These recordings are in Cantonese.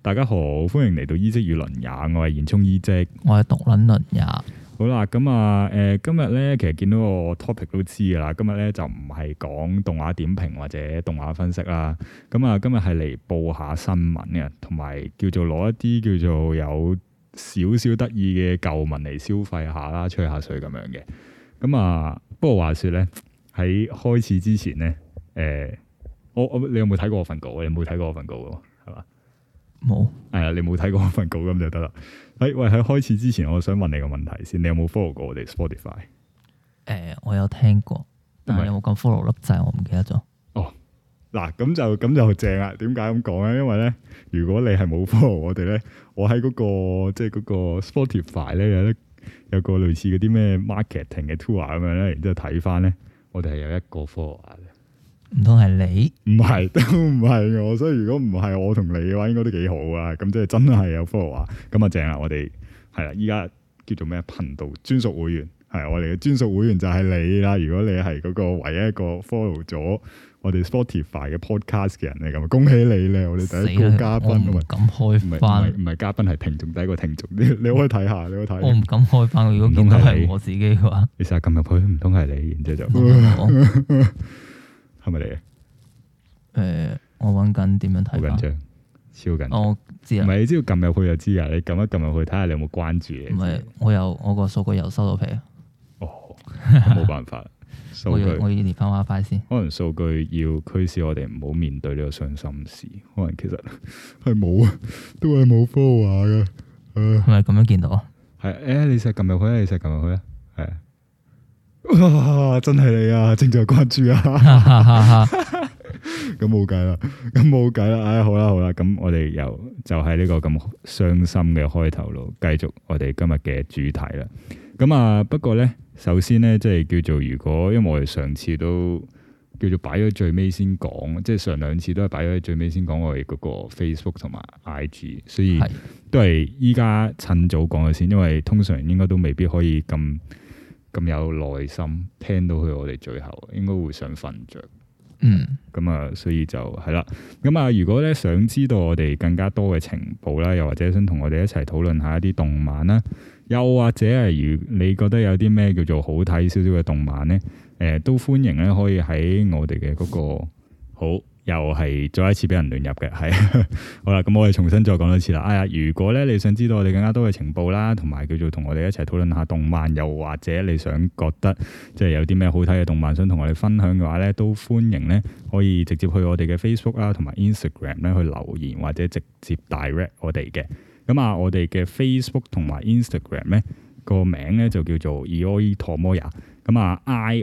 大家好，歡迎嚟到醫職與倫也，我係延聰醫職， 我係獨撚倫也。 好啦，咁啊，今日咧其實見到個 topic 都知噶啦，今日咧就唔係講動畫點評或者動畫分析啦，咁啊，今日係嚟報下新聞嘅，同埋叫做攞一啲叫做有少少得意嘅舊聞嚟消費下啦，吹下水咁樣嘅。咁啊，不過話說咧，喺開始之前咧，你有冇睇過我份稿？你冇睇過我份稿嘅係嘛？冇。係啊，你冇睇過我份稿咁就得啦。喂，喺開始之前，我想問你個問題先，你有冇 follow 過我哋 Spotify？ 我有聽過，但係有冇咁 follow 粒掣，我唔記得咗。哦， 嗱，咁就正啦。點解咁講咧？因為咧，如果你係冇 follow 我哋咧，我喺嗰個即係嗰個 Spotify 咧有個類似嗰啲咩 marketing 嘅 tour 咁樣咧，然之後睇翻咧，我哋係有一個 follow 嘅。 唔通係你？唔係，都唔係我。所以如果唔係我同你嘅話，應該都幾好啊。咁即係真係有 follow 啊。咁啊正啦，我哋係啦，依家叫做咩頻道專屬會員，係我哋嘅專屬會員就係你啦。如果你係嗰個唯一一個 follow 咗我哋 Spotify 嘅 podcast 嘅人嚟，咁恭喜你咧！我哋第一個嘉賓， 我唔敢開翻， 唔係嘉賓，係聽眾，第一個聽眾。你可以睇下，你可以睇。 我唔敢開翻，如果見到係我自己嘅話， 你成日撳入去，唔通係你？然之後就係咪你啊？ 我揾緊點樣睇？好緊張， 超緊張。 我知啊， 唔係你只要撳入去就知啊！你撳一撳入去，睇下你有冇關注你。 唔係，我個數據又收到皮啊！ 哦，冇辦法，數據我要連翻 WiFi 先。 可能數據要驅使我哋唔好面對呢個傷心事。可能其實係冇啊，都係冇 follow 嘅。 係咪咁樣見到啊？ 係你成日撳入去啊！你成日撳入去啊！係啊！哇！真係你啊！正在關注啊！咁冇計啦！唉，好啦，咁我哋就係呢個咁傷心嘅開頭咯，繼續我哋今日嘅主題啦。咁啊，不過咧，首先咧，即係叫做如果，因為我哋上次都叫做擺咗最尾先講，即係上兩次都係擺咗最尾先講我哋嗰個 Facebook 同埋 IG， 所以都係依家趁早講咗先，因為通常應該都未必可以咁有耐心聽到佢我哋最後，應該會想瞓着。咁啊，所以就係啦。咁啊，如果咧想知道我哋更加多嘅情報啦，又或者想同我哋一齊討論下一啲動漫啦，又或者係如你覺得有啲咩叫做好睇少少嘅動漫咧，都歡迎咧可以喺我哋嘅嗰個好。又係再一次俾人亂入嘅，係好啦。咁我哋重新再講多次啦。如果咧你想知道我哋更加多嘅情報啦，同埋叫做同我哋一齊討論下動漫，又或者你想覺得即係有啲咩好睇嘅動漫想同我哋分享嘅話咧，都歡迎咧可以直接去我哋嘅 Facebook 啦，同埋 Instagram 咧去留言或者直接 direct 我哋嘅。咁啊，我哋嘅 Facebook 同埋 Instagram 咧個名咧就叫做 Iori Tomoya。咁啊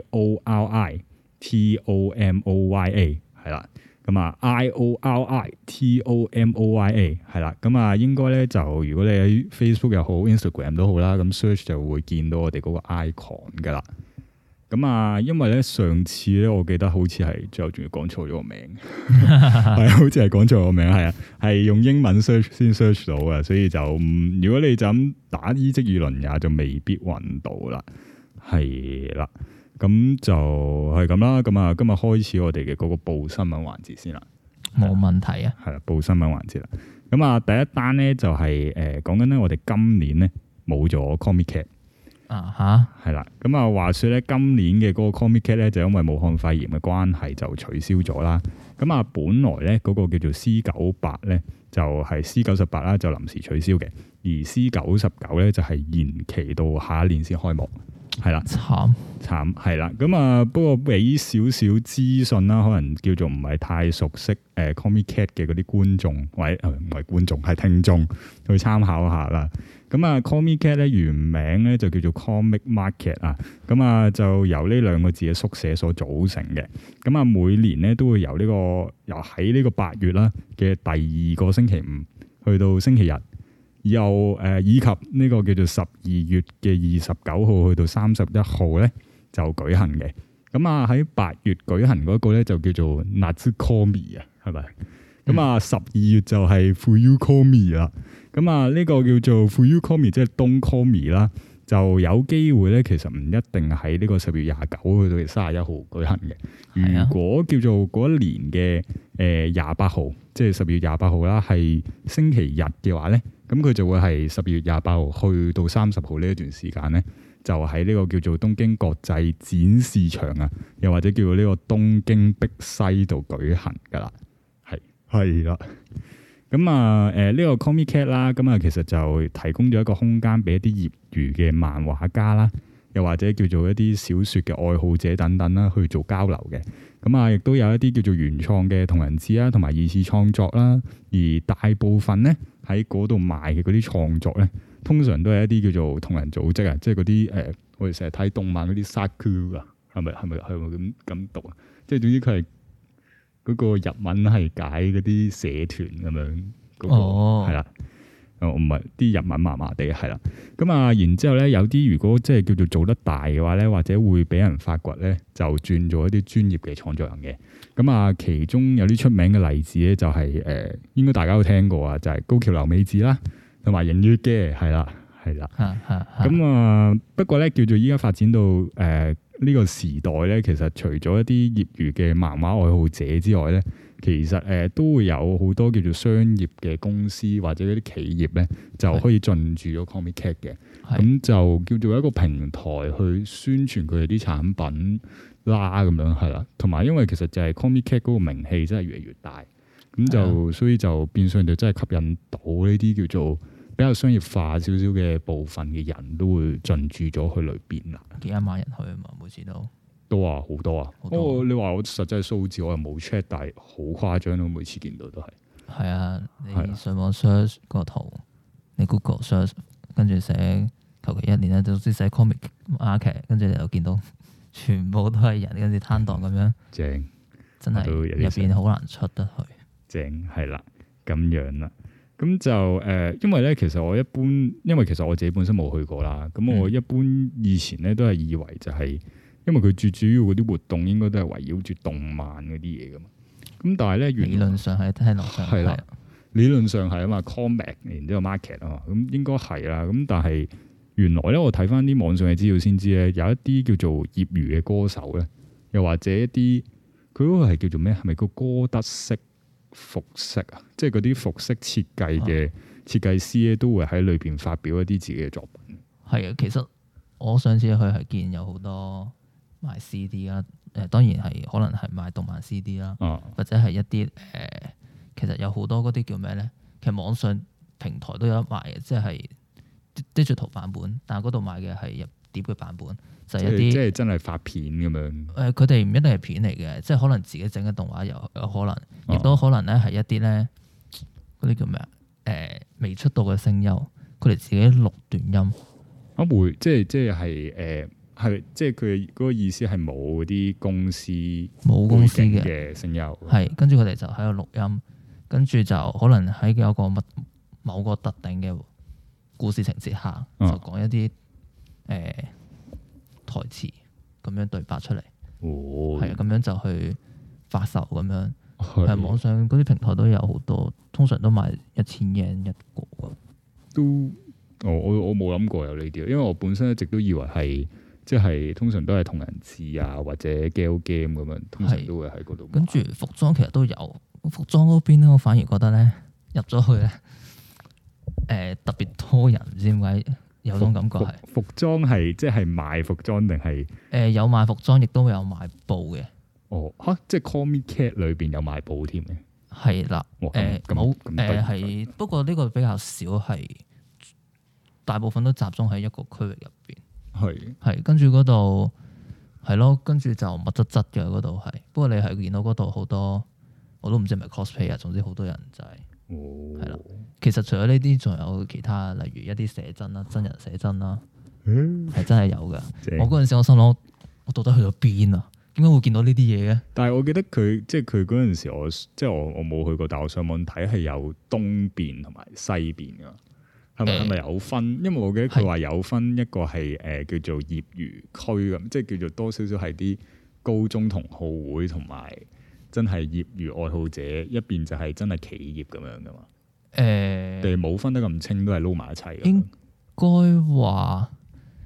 IORI TOMOYA 係啦。咁啊 IORI TOMOYA 係啦，咁啊應該咧就如果你喺 Facebook 又好 Instagram 都好啦，咁 search 就會見到我哋嗰個 icon 噶啦。咁啊，因為咧上次咧我記得好似係最後仲要講錯咗個名，係好似係講錯個名，係啊，係用英文 search 先 search 到嘅，所以就如果你就咁打醫職與倫也就未必揾到啦，係啦。咁就係咁啦，咁啊，今日開始我哋嘅嗰個報新聞環節先啦。 冇問題啊。係啦， 報新聞環節啦。咁啊，第一單咧就係講緊咧，我哋今年咧冇咗 Comic Cat 係啦。咁啊，話說咧，今年嘅嗰個 Comic Cat 咧就因為武漢肺炎嘅關係就取消咗啦。咁啊，本來咧嗰個叫做 C98 咧就係 C98 啦，就臨時取消嘅，而 C99 咧就係延期到下一年先開幕。係啦，慘係啦，咁啊，不過俾少少資訊啦，可能叫做唔係太熟悉Comic Cat 嘅嗰啲觀眾，或者唔係觀眾係聽眾去參考下啦。咁啊 Comic Cat 咧原名咧就叫做 Comic Market 啊，咁啊就由呢兩個字嘅縮寫所組成嘅。咁啊每年咧都會由喺呢個8月啦嘅第二個星期五去到星期日。又以及呢個叫做12月嘅29號去到31號咧就舉行嘅。咁啊喺8月舉行嗰個咧就叫做 Natsukomi 啊，係咪？咁啊12月就係 Fuyukomi 啦。咁啊呢個叫做 Fuyukomi 即係冬 Komi 啦， 就有機會咧，其實唔一定喺呢個10月29去到31號舉行嘅。如果叫做嗰一年嘅28號，即係10月28號啦，係星期日嘅話咧，咁佢就會係10月28號去到30號呢一段時間咧，就喺呢個叫做東京國際展示場啊，又或者叫做呢個東京碧西度舉行噶啦，係啦。咁啊，呢個 Comiket 啦，咁啊，其實就提供咗一個空間俾一啲業餘嘅漫畫家啦，又或者叫做一啲小説嘅愛好者等等啦，去做交流嘅。咁啊，亦都有一啲叫做原創嘅同人誌啦，同埋二次創作啦。而大部分咧喺嗰度賣嘅嗰啲創作咧，通常都係一啲叫做同人組織啊，即係嗰啲我哋成日睇動漫嗰啲 saku 啊，係咪咁讀啊？即係總之佢係。嗰個日文係解嗰啲社團咁樣，嗰個係啦，唔係啲日文麻麻地係啦。咁啊，然之後咧，有啲如果即係叫做做得大嘅話咧，或者會俾人發掘咧，就轉做一啲專業嘅創作人嘅。咁啊，其中有啲出名嘅例子咧，就係應該大家都聽過啊，就係高橋留美子啦，同埋影月嘅係啦。咁啊，不過咧叫做依家發展到呢個時代咧，其實除咗一啲業餘嘅漫畫愛好者之外咧，其實都會有好多叫做商業嘅公司或者嗰啲企業咧，就可以進駐咗 Comiket 嘅，咁就叫做一個平台去宣傳佢哋啲產品啦，咁樣係啦。同埋因為其實就係 Comiket 嗰個名氣真係越嚟越大，咁就所以就變相就真係吸引到呢啲叫做比較商業化少少嘅部分嘅人都會進駐咗去裏邊啦。 幾萬人去啊嘛，每次都好多啊！你話我實際數字我又冇 check， 但係好誇張咯，每次見到都係。係啊，你上網 search 個圖，你 Google search， 跟住寫求其一年咧，總之寫 comic market， 跟住你就見到全部都係人，跟住攤檔咁樣。正，真係入邊好難出得去。 正係啦，咁樣啦。咁就因為咧，其實我一般，因為其實我自己本身冇去過啦。咁我一般以前咧都係以為就係，因為佢最主要嗰啲活動應該都係圍繞住動漫嗰啲嘢噶嘛。咁但係咧， 理論上係聽落上係啦， 理論上係啊嘛 ，comic 然之後 market 啊嘛，咁應該係啦。咁但係原來咧，我睇翻啲網上嘅資料先知咧，有一啲叫做業餘嘅歌手咧，又或者一啲佢嗰個係叫做咩？係咪個歌德式服飾啊，即係嗰啲服飾設計嘅設計師咧，都會喺裏邊發表一啲自己嘅作品。係啊， 其實我上次去係見有好多賣 CD 啦，當然係可能係賣動漫 CD 啦，或者係一啲其實有好多嗰啲叫咩咧？其實網上平台都有得賣嘅，即係 digital 版本，但係嗰度賣嘅係入碟嘅版本，就係一啲即係真係發片咁樣。 佢哋唔一定係片嚟嘅，即係可能自己整嘅動畫有可能，亦都可能咧係一啲咧嗰啲叫咩啊？未出道嘅聲優，佢哋自己錄短音。 會即係即係佢嗰個意思係冇嗰啲公司冇公司嘅聲優， 係跟住佢哋就喺度錄音，跟住就可能喺有個某個特定嘅故事情節下，就講一啲台詞咁樣對白出嚟，係啊，咁樣就去發售咁樣。係網上嗰啲平台都有好多，通常都賣1000yen一個。 都我冇諗過有呢啲，因為我本身一直都以為係即係通常都係同人誌啊或者 gal game 咁樣，通常都會喺嗰度。 跟住服裝其實都有，服裝嗰邊咧，我反而覺得咧入咗去咧，特別多人，唔知點解有種感覺係。服裝係即係賣服裝定係？有賣服裝，亦都有賣布嘅。 即係 Comiket 裏邊有賣布添嘅。係啦， 冇係，不過呢個比較少，係大部分都集中喺一個區域入邊。係跟住嗰度係咯，跟住就密質質嘅嗰度係。不過你係見到嗰度好多，我都唔知係咪 cosplay 啊。總之好多人就係係啦。其實除咗呢啲，仲有其他，例如一啲寫真啦、真人寫真啦，係真係有㗎。我嗰陣時我心諗，我到底去咗邊啊？點解會見到呢啲嘢嘅？但係我記得佢即係佢嗰陣時，我冇去過，但我上網睇係有東邊同埋西邊噶，係咪有分？因為我記得佢話有分一個係叫做業餘區咁，即係叫做多少少係啲高中同好會同埋真係業餘愛好者，一邊就係真係企業咁樣噶嘛。定係冇分得咁清，都係撈埋一齊。應該話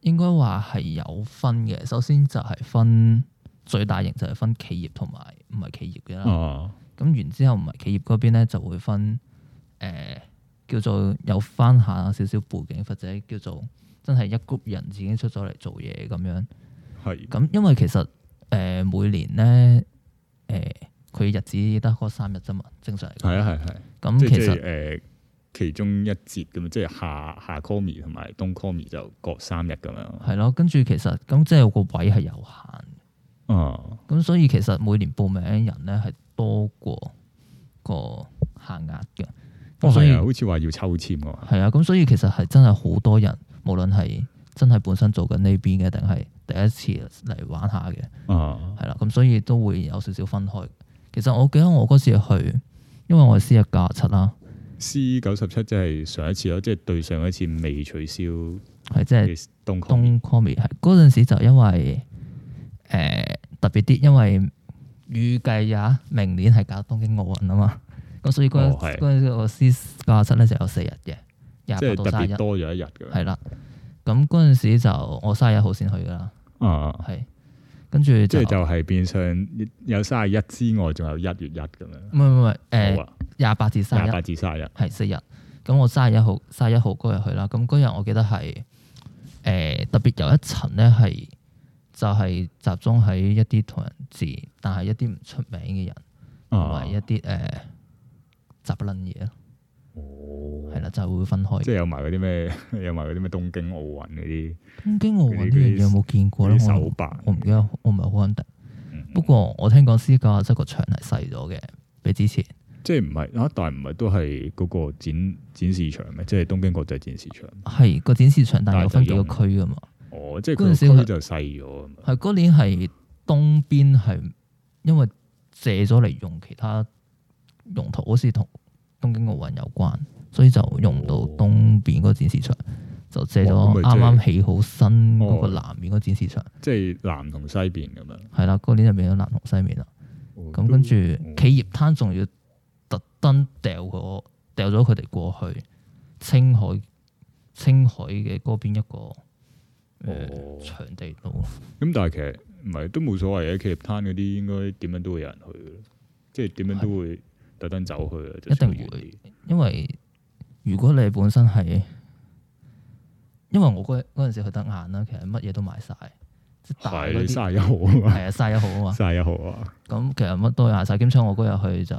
應該話係有分嘅。首先就係分最大型就係分企業同埋唔係企業嘅啦。咁然之後唔係企業嗰邊咧就會分叫做有翻下少少背景，或者叫做真係一 group 人自己出咗嚟做嘢咁樣。係。咁因為其實每年咧佢日子得嗰3日啫嘛，正常嚟講。係啊係。咁其實其中一節咁即係夏 Komi 同埋冬 Komi 就各3日咁樣。係咯，跟住其實咁即係個位係有限。咁所以其實每年報名人咧係多過個限額嘅，所以好似話要抽籤㗎。 係啊，咁所以其實係真係好多人，無論係真係本身做緊呢邊嘅，定係第一次嚟玩下嘅，係啦，咁所以都會有少少分開。其實我記得我嗰時去，因為我係 C197啦 ，C97即係上一次咯，即係對上一次未取消， 係即係冬 Komi 係嗰陣時就因為特別啲，因為預計明年係搞東京奧運啊嘛，咁所以嗰陣時個 C97咧就有4日嘅，28到31，即係特別多咗一日嘅。係啦，咁嗰陣時就我31號先去噶啦，係跟住即係就係變相有31之外，仲有1月1咁樣。唔係28至31係4日。咁我31號嗰日去啦，咁嗰日我記得係特別有一層咧係。就係集中喺一啲同人誌，但係一啲唔出名嘅人，同埋一啲雜撚嘢咯。係啦，就會分開。即係有埋嗰啲咩？有埋嗰啲咩東京奧運嗰啲。東京奧運呢樣嘢有冇見過咧？我唔記得，我唔係好肯定。不過我聽講C97個場係細咗嘅，比之前。即係唔係但係唔係都係嗰個展示場咩？即係東京國際展示場。係個展示場，但係有分幾個區噶嘛？即係嗰陣時就細咗。係嗰年係東邊係因為借咗嚟用其他用途，好似同東京奧運有關，所以就用唔到東邊嗰個展示場，就借咗啱啱起好新嗰個南面嗰個展示場。即係南同西邊咁樣。係啦，嗰年就變咗南同西面啦。咁跟住企業灘仲要特登掉咗佢哋過去青海嘅嗰邊一個。場地度，咁但係其實唔係都冇所謂嘅，企業攤嗰啲應該點樣都會有人去嘅，即係點樣都會特登走去嘅，一定會。因為如果你本身係，因為我嗰陣時去得晏啦，其實乜嘢都買晒，即係大嗰啲31號啊嘛，係啊31號啊嘛，31號啊。咁其實乜都買晒，兼且我嗰日去就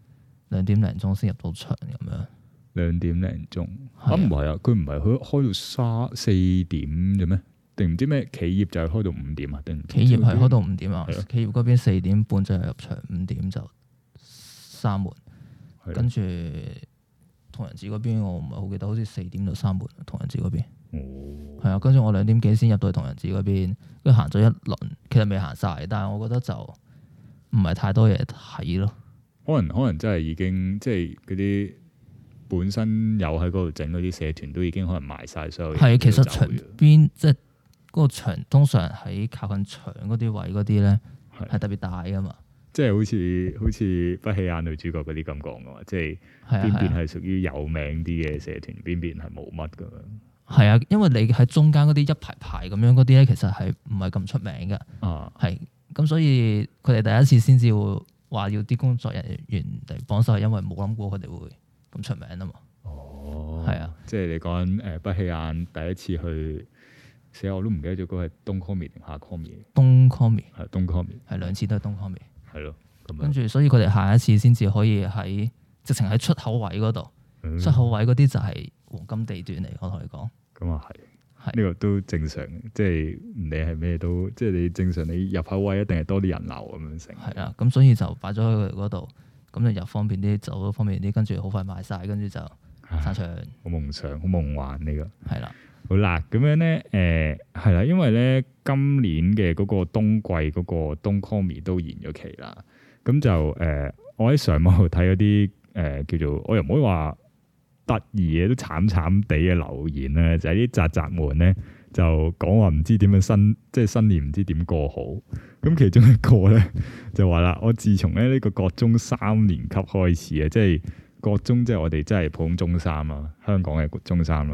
2點零鐘先入到場咁樣。2點零鐘唔係啊，佢唔係開到4點嘅咩？定唔知咩企業就係開到5點啊？定企業係開到5點啊？企業嗰邊4點半就入場，5點就閂門，跟住同人誌嗰邊我唔係好記得，好似4點就閂門。同人誌嗰邊係啊，跟住我2點幾先入到去同人誌嗰邊，跟住行咗一輪，其實未行晒，但係我覺得就唔係太多嘢睇咯。可能真係已經即係嗰啲。本身有喺嗰度整嗰啲社團都已經可能賣晒所有嘢。係，其實場邊即係嗰個場，通常喺靠近牆嗰啲位嗰啲咧，係特別大噶嘛。即係好似不起眼女主角嗰啲咁講噶嘛，即係邊邊係屬於有名啲嘅社團，邊邊係冇乜噶嘛。係啊，因為你喺中間嗰啲一排排咁樣嗰啲咧，其實係唔係咁出名嘅。係咁，所以佢哋第一次先至會話要啲工作人員嚟幫手，係因為冇諗過佢哋會咁出名啊嘛。係啊，即係你講緊不起眼第一次去，死我都唔記得咗嗰個係東 Komi 定夏 Komi。東 Komi 係東 Komi，係2次都係東 Komi。係咯，跟住所以佢哋下一次先至可以喺直情喺出口位嗰度，出口位嗰啲就係黃金地段嚟。我同你講，咁啊係，呢個都正常，即係你係咩都，即係你正常你入口位一定係多啲人流咁樣成。係啊，咁所以就擺咗喺佢嗰度。咁就入方便啲，走都方便啲，跟住好快賣晒，跟住就散場。好夢想，好夢幻呢個。係啦，好啦，咁樣咧，係啦，因為咧今年嘅嗰個冬季嗰個冬 Komi 都延咗期啦。咁就我喺上網度睇嗰啲叫做，我又唔可以話得意嘅，都慘慘地嘅留言咧，就係啲宅宅們咧就講話唔知點樣即係新年唔知點過好。咁其中一個咧就話啦，我自從咧呢個國中3年級開始啊，即係國中即係我哋真係普通中三啦，香港嘅中三啦。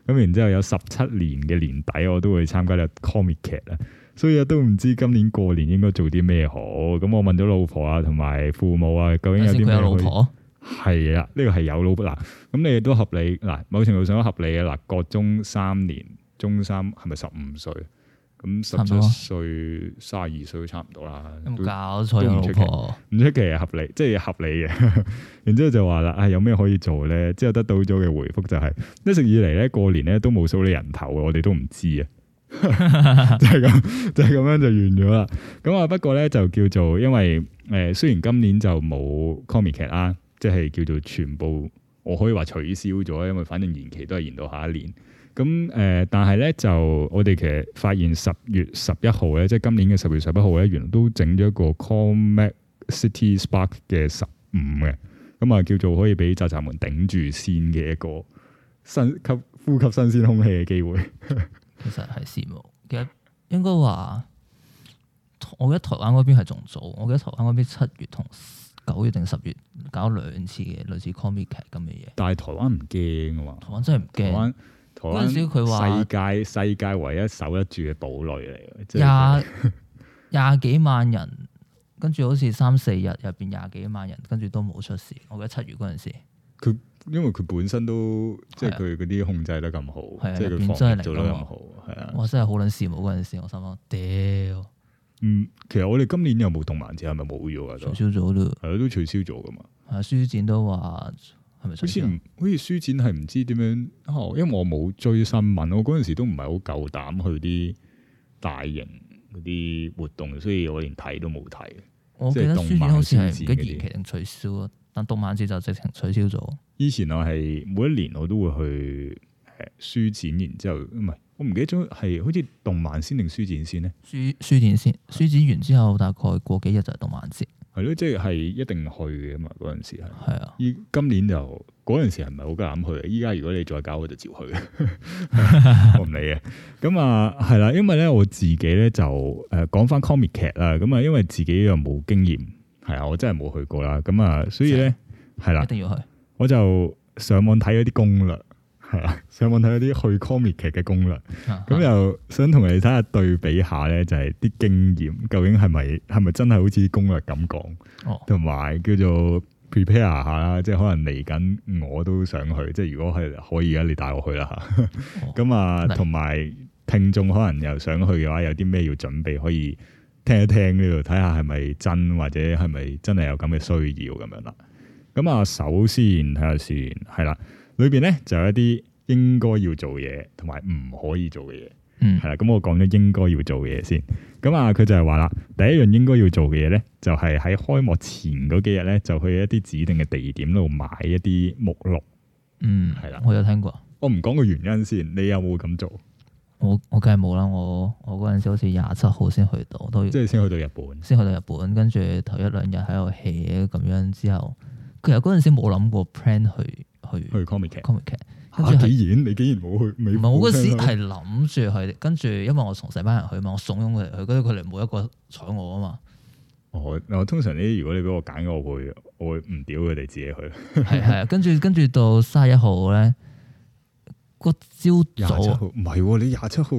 咁然之後有17年嘅年底我都會參加呢個 Comic 劇啊，所以都唔知今年過年應該做啲咩好。咁我問咗老婆啊同埋父母啊，究竟有啲咩可以？佢有老婆？係啊，呢個係有老婆嗱，咁你哋都合理嗱，某程度上都合理嘅嗱。國中3年，中三係咪15歲？咁17歲、32歲都差唔多啦。有冇搞錯？有老婆唔出奇係合理，即係合理嘅。然之後就話啦，有咩可以做咧？之後得到咗嘅回覆就係一直以嚟咧過年咧都冇數你人頭，我哋都唔知啊。就係咁，就係咁樣就完咗啦。咁啊，不過咧就叫做因為雖然今年就冇 comic 劇啦。即係叫做全部，我可以話取消咗，因為反正延期都係延到下一年。咁但係咧就我哋其實發現10月11號咧，即係今年嘅10月11號咧，原來都整咗一個 Comic City Spark 嘅15嘅，咁啊叫做可以俾宅宅們頂住先嘅一個呼吸新鮮空氣嘅機會。 其實係羨慕，其實應該話，我記得台灣嗰邊係仲早，我記得台灣嗰邊7月同9月定10月搞2次嘅類似 comic 劇咁嘅嘢，但係台灣唔驚啊嘛！台灣真係唔驚。台灣嗰陣時佢話世界唯一守得住嘅堡壘嚟嘅，廿幾萬人，跟住好似3-4日入邊廿幾萬人，跟住都冇出事。我記得7月嗰陣時，佢因為佢本身都即係佢嗰啲控制得咁好，即係佢防疫做得咁好，係啊！我真係好撚羨慕嗰陣時，我心諗屌。其實我哋今年有冇動漫節？係咪冇咗啊？取消咗咯，係都取消咗噶嘛。係書展都話係咪？好似書展係唔知點樣因為我冇追新聞，我嗰陣時都唔係好夠膽去啲大型嗰啲活動，所以我連睇都冇睇。我記得書展好似係唔記得延期定取消啊，但動漫節就直情取消咗。以前我係每一年我都會去書展，然之後唔係。我唔記得咗係好似動漫先定書展先咧？書展先，書展完之後大概過幾日就係動漫節。係咯，即係一定去嘅嘛。嗰陣時係。係啊。今年就嗰陣時係唔係好夠膽去？依家如果你再搞，我就照去。我唔理嘅。咁啊，係啦，因為咧我自己咧就講翻 comic 劇啦。咁啊，因為自己又冇經驗，係啊，我真係冇去過啦。咁啊，所以咧係啦，一定要去。我就上網睇咗啲攻略。係啊，上網睇一啲去 comic 劇嘅攻略，咁又想同你睇下對比下咧，就係啲經驗究竟係咪真係好似攻略咁講，同埋叫做 prepare 下啦，即係可能嚟緊我都想去，即係如果係可以嘅，你帶我去啦吓。咁啊，同埋聽眾可能又想去嘅話，有啲咩要準備，可以聽一聽呢度，睇下係咪真，或者係咪真係有咁嘅需要咁樣啦。咁啊，首先睇下先，係啦。裏邊咧就有一啲應該要做嘢，同埋唔可以做嘅嘢，係啦。咁我講咗應該要做嘅嘢先。咁啊，佢就係話啦，第一樣應該要做嘅嘢咧，就係喺開幕前嗰幾日咧，就去一啲指定嘅地點度買一啲目錄。係啦，我有聽過。我唔講個原因先，你有冇咁做？我梗係冇啦。我嗰陣時好似27號先去到，都即係先去到日本，跟住頭1-2日喺度 hea 咁樣之後，其實嗰陣時冇諗過 plan 去 comic 劇，跟住你竟然冇去？唔係我嗰時係諗住去，跟住因為我同成班人去嘛，我慫恿佢哋去，跟住佢哋冇一個睬我啊嘛。我通常如果你俾我揀，我會唔屌佢哋自己去。係啊，跟住到31號咧，個朝早唔係你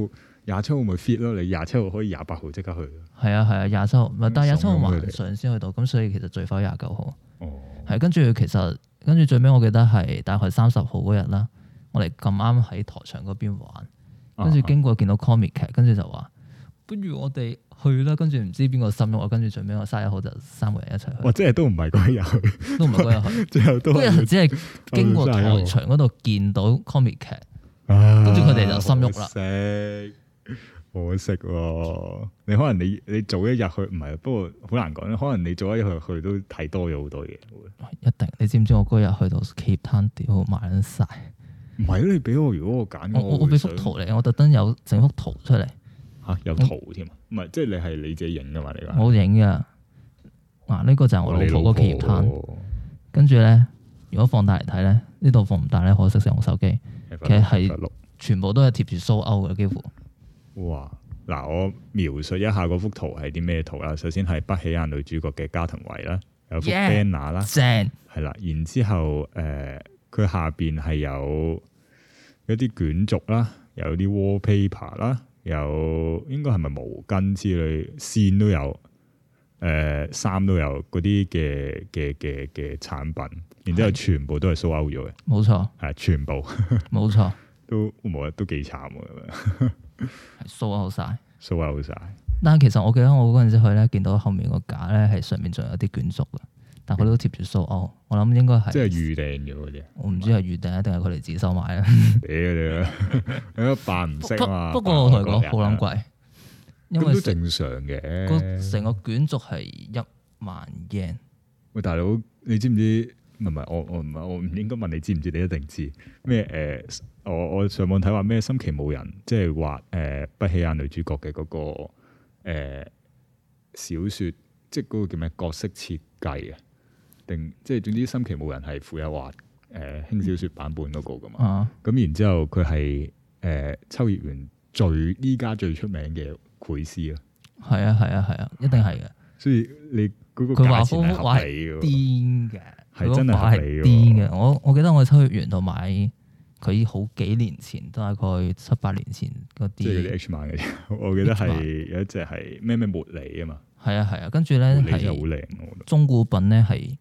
27號咪 fit 咯，你27號可以28號即刻去。係啊，27號，但係27號晚上先去到，咁所以其實最快29號。係跟住最尾我記得係大概30號嗰日啦，我哋咁啱喺台場嗰邊玩，跟住經過見到 comic 劇，跟住就話不如我哋去啦。跟住唔知邊個心喐，跟住最尾我31號就3個人一齊去。即係都唔係嗰日去，都唔係嗰日去，最後都嗰日只係經過台場嗰度見到 comic 劇，跟住佢哋就心喐啦。可惜喎，你可能你早一日去唔係，不過好難講。可能你早一日去都睇多咗好多嘢。一定，你知唔知我嗰日去到 Cape Town 屌買緊晒？唔係你俾我，如果我揀，我俾幅圖嚟，我特登有整幅圖出嚟。吓，有圖添啊？唔係，即係你係你自己影噶嘛？你話我影噶。嗱，呢個就係我老婆個 Cape Town。跟住咧，如果放大嚟睇咧，呢度放唔大咧，可惜用手機。其實係全部都係貼住蘇歐嘅，幾乎。哇！嗱，我描述一下嗰幅圖係啲咩圖啦。首先係不起眼女主角嘅加藤惠啦，有幅 banner 啦，正係啦。然之後佢下邊係有一啲卷軸啦，有啲 wallpaper 啦，有應該係咪毛巾之類，線都有，衫都有嗰啲嘅產品，然之後全部都係 sold out咗嘅， 冇錯， 係全部， 冇錯， 都冇都幾慘喎， 係 sold out晒 ，sold out晒。 但係其實我記得我嗰陣時去咧，見到後面個架咧係上面仲有啲卷軸嘅。但佢都貼住 sold out，我諗應該係即係預訂咗嗰啲。我唔知係預訂定係佢哋自己收買啦。 屌你扮唔識啊嘛！ 不過我同你講好撚貴，因為都正常嘅。 成個卷軸係10000 yen。 喂，大佬，你知唔知？唔係我唔應該問你知唔知？你一定知咩？我上網睇話咩？森崎武人即係畫不起眼女主角嘅嗰個小説，即係嗰個叫咩角色設計啊？定即係總之，森崎武人係負有畫輕小說版本嗰個噶嘛？咁然之後佢係秋葉原依家最出名嘅繪師啊！係啊，一定係嘅。所以你嗰個價錢係合理嘅， 癲嘅， 係真係合理嘅。 癲嘅。我記得我喺秋葉原度買佢好幾年前，大概7-8年前嗰啲，即係嗰啲 H 漫嘅。我記得係有一隻係咩茉莉啊嘛。係啊，跟住咧係好靚， 中古品咧係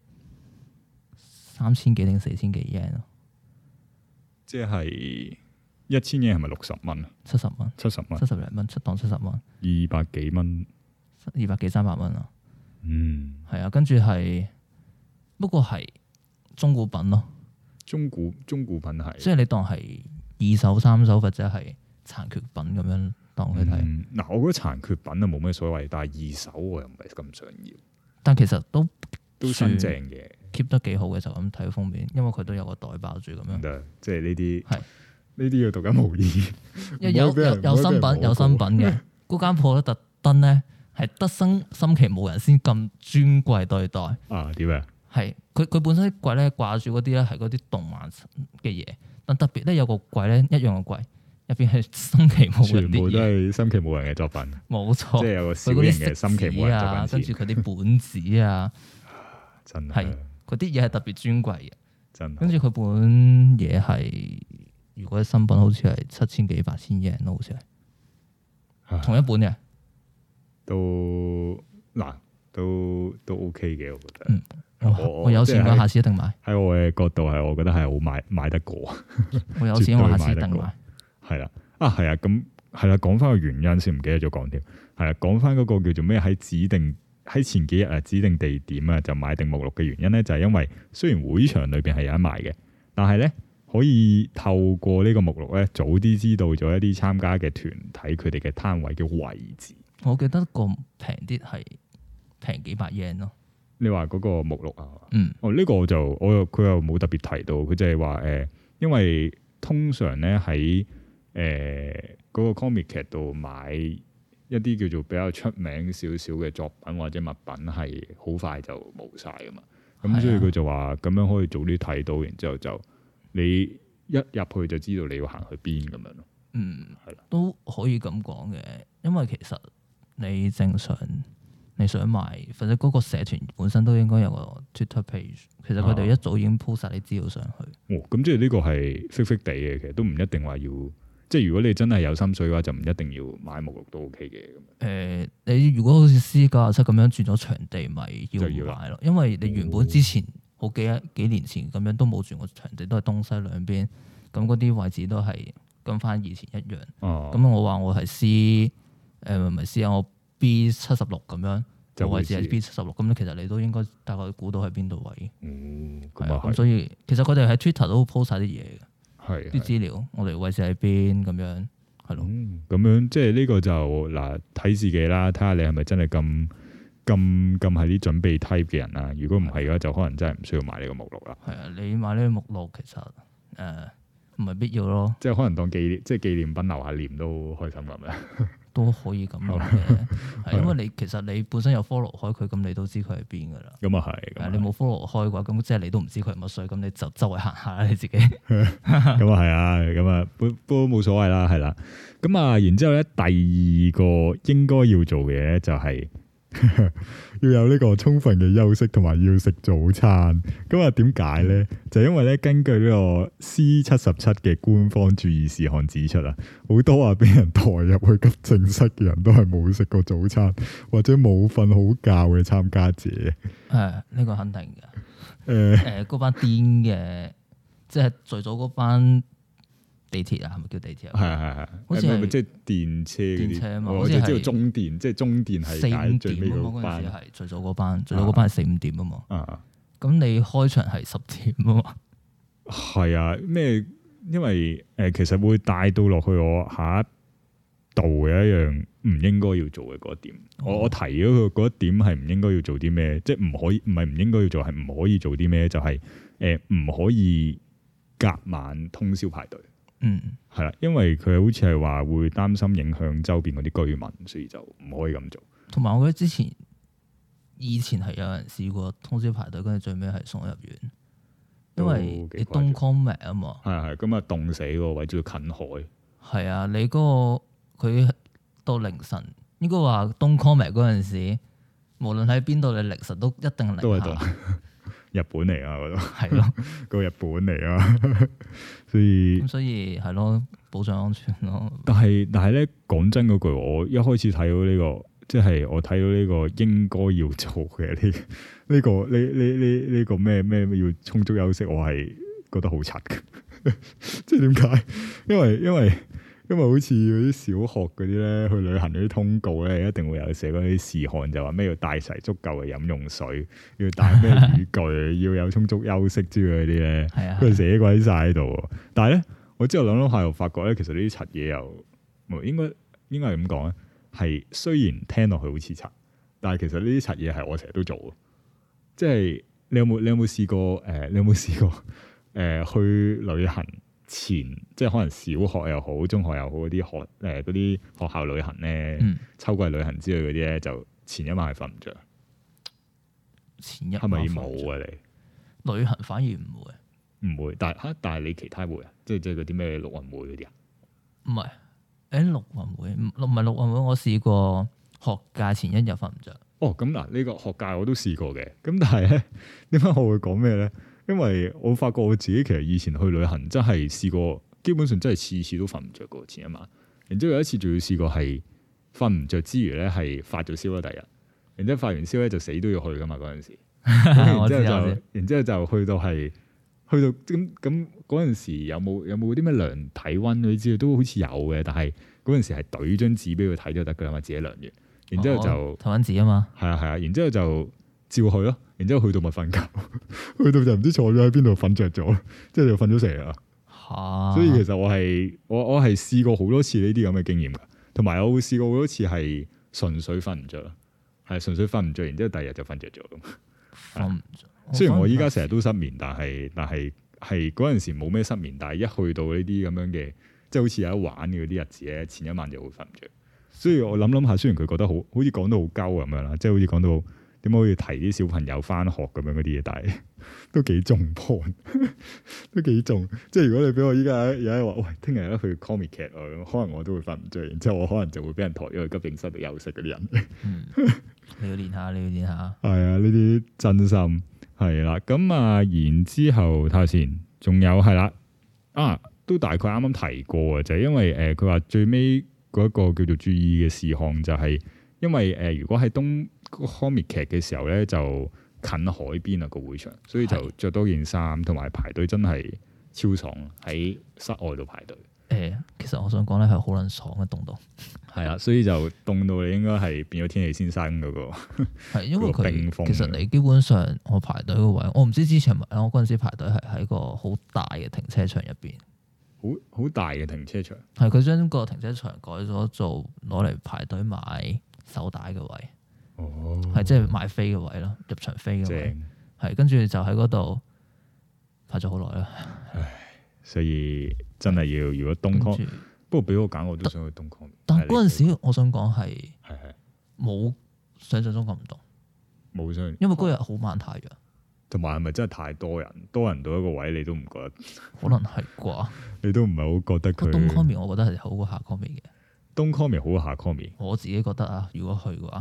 3000幾定4000幾 yen 咯， 即係1000 yen係咪60蚊啊 ？70蚊 ，70蚊 ，70零蚊，出檔70蚊 ，200幾蚊 ，200幾300蚊啊。係啊，跟住係不過係中古品咯，中古品係，即係你當係2手3手或者係殘缺品咁樣當佢睇。 嗱，我覺得殘缺品啊冇咩所謂，但係2手我又唔係咁想要。但其實都新淨嘅 ，keep 得幾好嘅，就咁睇封面，因為佢都有個袋包住咁樣。 即係呢啲係呢啲要獨一無二。 有新品有新品嘅，嗰間鋪咧特登咧係得森崎武人先咁尊貴對待。 啊，點啊？ 係佢本身啲櫃咧掛住嗰啲咧係嗰啲動漫嘅嘢，但特別咧有個櫃咧一樣嘅櫃。入邊係森崎武人，全部都係森崎武人嘅作品，冇錯。 即係有個小型嘅森崎武人作品， 跟住佢啲本子啊， 真係嗰啲嘢係特別尊貴嘅， 真。跟住佢本嘢係，如果新品好似係7000幾8000 yen 咯，好似係同一本嘅， 都 OK 嘅，我覺得。 我有錢嘅，下次一定買。 喺我嘅角度係，我覺得係好買得過。 我有錢，我下次一定買。 係啦，係啊，咁係啦，講翻個原因先，唔記得咗講添。係啦，講翻嗰個叫做咩？喺前幾日啊，指定地點啊，就買定目錄嘅原因咧，就係因為雖然會場裏邊係有得賣嘅，但係咧可以透過呢個目錄咧，早啲知道咗一啲參加嘅團體佢哋嘅攤位嘅位置。 我記得個平啲係平幾百 yen 咯。 你話嗰個目錄啊？呢個佢又冇特別提到，佢就係話因為通常咧喺嗰個 comic 劇度買一啲叫做比較出名少少嘅作品或者物品係好快就冇晒噶嘛，咁所以佢就話咁樣可以早啲睇到，然之後就你一入去就知道你要行去邊咁樣咯。係啦， 都可以咁講嘅，因為其實你正常你想買，或者嗰個社團本身都應該有個 Twitter page， 其實佢哋一早已經 po 晒啲資料上去。 咁即係呢個係 fake 地嘅，其實都唔一定話要。即係如果你真係有心水嘅話，就唔一定要買目錄都 OK 嘅。 你如果好似C97咁樣轉咗場地，咪要買咯。因為你原本之前好幾年前咁樣都冇轉過場地，都係東西兩邊，咁嗰啲位置都係跟翻以前一樣。咁我話我係 C，唔係 C 啊，我 B76咁樣，就位置係 B76。咁其實你都應該大概估到喺邊度位。咁所以其實佢哋喺 Twitter 都 po 晒啲嘢嘅。係啲資料，我哋位置喺邊咁樣，係咯。 咁樣即係呢個就嗱睇自己啦，睇下你係咪真係咁係啲準備 type 嘅人啦。如果唔係嘅話，就可能真係唔需要買呢個目錄啦。係啊， 你買呢個目錄其實唔係必要咯。 即係可能當紀念品留下念都開心咁樣。 都可以咁諗嘅，係因為其實你本身有 follow 開佢，咁你都知佢喺邊噶啦。咁啊係，你冇 follow 開嘅話，咁即係你都唔知佢係乜水，咁你就周圍行下啦，你自己。咁啊係啊，咁啊都冇所謂啦，係啦。咁啊，然之後咧，第二個應該要做嘅嘢就係要有呢個充分嘅休息，同埋要食早餐。咁啊，點解咧？就因為咧，根據呢個 C77 嘅官方注意事項指出啊，好多話俾人抬入去急症室嘅人都係冇食過早餐，或者冇瞓好覺嘅參加者。 呢個肯定嘅。嗰班癲嘅，即係最早嗰班。地鐵啊，係咪叫地鐵啊？ 係， 好似係即係電車嗰啲。 電車啊嘛， 我只知道中電，即係中電係解最尾嗰班。 係最早嗰班，最早嗰班係4-5點啊嘛。咁你開場係10點啊嘛。 係啊，咩？因為其實會帶到落去我下一度嘅一樣唔應該要做嘅嗰一點。我提咗佢嗰一點係唔應該要做啲咩？即係唔可以，唔係唔應該要做，係唔可以做啲咩？就係唔可以隔晚通宵排隊。係啦，因為佢好似係話會擔心影響周邊嗰啲居民，所以就唔可以咁做。同埋我覺得以前係有人試過通宵排隊，跟住最尾係送入院，因為你東 Comic 啊嘛。係咁啊，凍死個位，仲要近海。係啊，你嗰個佢到凌晨，應該話東 Comic 嗰陣時，無論喺邊度，你凌晨都一定零下。都係凍。日本嚟啊，嗰度係咯，個日本嚟啊，所以係咯，保障安全咯。但係咧，講真嗰句，我一開始睇到呢個，即係我睇到呢個應該要做嘅呢個咩要充足休息，我係覺得好柒嘅。即係點解？因為好似嗰啲小學嗰啲咧，去旅行嗰啲通告咧，一定會有寫嗰啲事項，就話咩要帶齊足夠嘅飲用水，要帶咩雨具，要有充足休息之類嗰啲咧，佢寫鬼晒喺度。但係咧，我之後諗諗下又發覺咧，其實呢啲柒嘢又應該係咁講咧，係雖然聽落去好似柒，但係其實呢啲柒嘢係我成日都做。即係你有冇試過？你有冇試過？去旅行前，即係可能小學又好，中學又好嗰啲學校旅行咧，秋季旅行之類嗰啲咧，就前一晚係瞓唔着。前一晚係咪冇啊？你旅行反而唔會，但係你其他會啊？即係嗰啲咩陸運會嗰啲啊？唔係，陸運會唔係陸運會，我試過學界前一日瞓唔着。哦，咁嗱，呢個學界我都試過嘅。咁但係咧，點解我會講咩咧？因為我發覺我自己其實以前去旅行真係試過，基本上真係次次都瞓唔着過前一晚。然之後有一次仲要試過係瞓唔着之餘咧，係發咗燒啦第日。然之後發完燒咧就死都要去噶嘛嗰陣時。然之後就去到咁嗰陣時有冇啲咩量體溫嗰啲之類都好似有嘅，但係嗰陣時係懟張紙俾佢睇就得噶啦嘛，自己量完。然之後就體溫紙啊嘛。係啊，然之後就照去咯。然之後去到咪瞓覺，去到就唔知坐咗喺邊度瞓着咗，即係就瞓咗成日啦。所以其實我係試過好多次呢啲咁嘅經驗噶，同埋我會試過好多次係純粹瞓唔着，係純粹瞓唔着，然之後第二日就瞓着咗。瞓唔着。雖然我依家成日都失眠，但係嗰陣時冇咩失眠，但係一去到呢啲咁樣嘅，即係好似有得玩嘅嗰啲日子咧，前一晚就會瞓唔着。所以我諗下，雖然佢覺得好似講到好鳩咁樣啦，即係好似講到。點解可以提啲小朋友翻學咁樣嗰啲嘢？但係都幾重 point，都幾重。即係如果你俾我依家有一話，喂，聽日去 comic 劇啊，可能我都會瞓唔着，然之後我可能就會俾人抬咗去急症室度休息嗰啲人。你要練下。係啊，呢啲真心係啦。咁啊，然之後睇下先，仲有係啦，都大概啱啱提過啊，就係因為佢話最尾嗰一個叫做注意嘅事項就係因為如果喺comic 劇嘅時候咧，就近海邊啊個會場，所以就着多件衫，同埋排隊真係超爽喺室外度排隊。其實我想講咧係好撚爽嘅凍到，係啊，所以就凍到你應該係變咗天氣先生嗰個。係因為佢其實你基本上我排隊個位，我唔知之前我嗰陣時排隊係喺個好大嘅停車場入邊，好大嘅停車場。係佢將個停車場改咗做攞嚟排隊買手帶嘅位。係即係買飛嘅位咯，入場飛嘅位，係跟住就喺嗰度排咗好耐啦。唉，所以真係要如果東康，不過俾我揀，我都想去東康。但係嗰陣時，我想講係冇想象中咁凍，冇想，因為嗰日好慢太陽，同埋係咪真係太多人？多人到一個位，你都唔覺得？可能係啩？你都唔係好覺得佢東康面，我覺得係好過下康面嘅。東康面好過下康面，我自己覺得啊，如果去嘅話。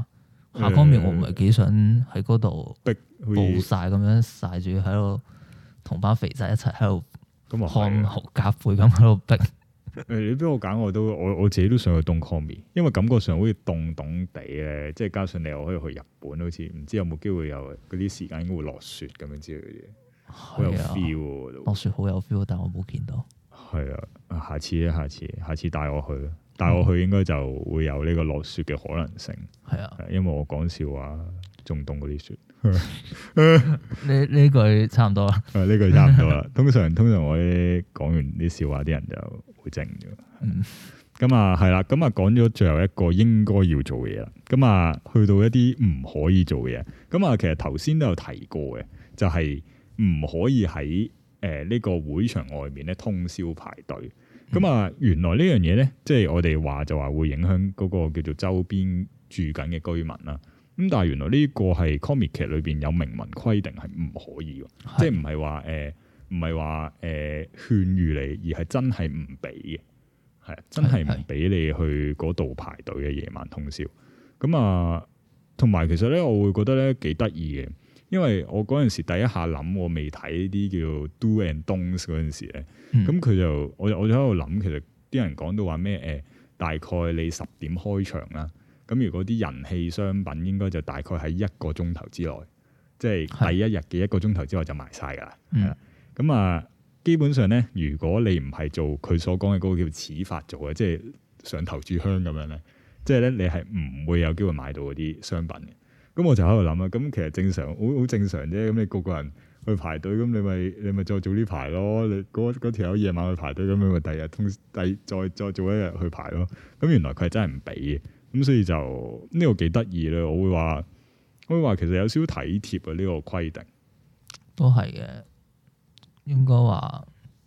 下方面我唔係幾想喺嗰度暴曬咁樣曬住喺度，同班肥仔一齊喺度看豪夾背咁喺度逼。 你俾我揀，我自己都想去東 Komi， 因為感覺上好似凍凍地咧，即係加上你又可以去日本，好似唔知有冇機會有嗰啲時間應該會落雪咁樣之類嘅嘢，好有 feel 喎。 落雪好有 feel，但我冇見到。係啊，下次帶我去應該就會有呢個落雪嘅可能性。係啊，因為我講笑話仲凍嗰啲雪。 呢句差唔多啦。 呢句差唔多啦。通常我啲講完啲笑話，啲人就會靜咗。咁啊係啦，咁啊講咗最後一個應該要做嘅嘢啦。咁啊去到一啲唔可以做嘅嘢。咁啊其實頭先都有提過嘅，就係唔可以喺呢個會場外面咧通宵排隊。咁啊原來呢樣嘢咧，即係我哋話就話會影響嗰個叫做周邊住緊嘅居民啦。咁但係原來呢個係 comic 劇裏邊有明文規定係唔可以，即係唔係話勸喻你，而係真係唔俾嘅，係真係唔俾你去嗰度排隊嘅夜晚通宵。咁啊，同埋其實咧，我會覺得咧幾得意嘅，因為我嗰陣時第一下諗，我未睇啲叫 do and don'ts 嗰陣時咧，咁佢就我就喺度諗，其實啲人講到話咩大概你10點開場啦。咁如果啲人氣商品應該就大概喺1個鐘頭之內，即係第一日嘅1個鐘頭之內就賣晒㗎啦。係啦，咁啊，基本上咧，如果你唔係做佢所講嘅嗰個叫始發做嘅，即係上頭炷香咁樣咧，即係咧你係唔會有機會買到嗰啲商品嘅。咁我就喺度諗啦，咁其實正常，好正常啫。咁你個個人去排隊，咁你咪再早啲排咯。你嗰條友夜晚去排隊，咁你咪第二日再做一日去排咯。咁原來佢係真係唔俾嘅。咁所以就呢個幾得意咧，我會話其實有少少體貼啊，呢個規定都係嘅，應該話，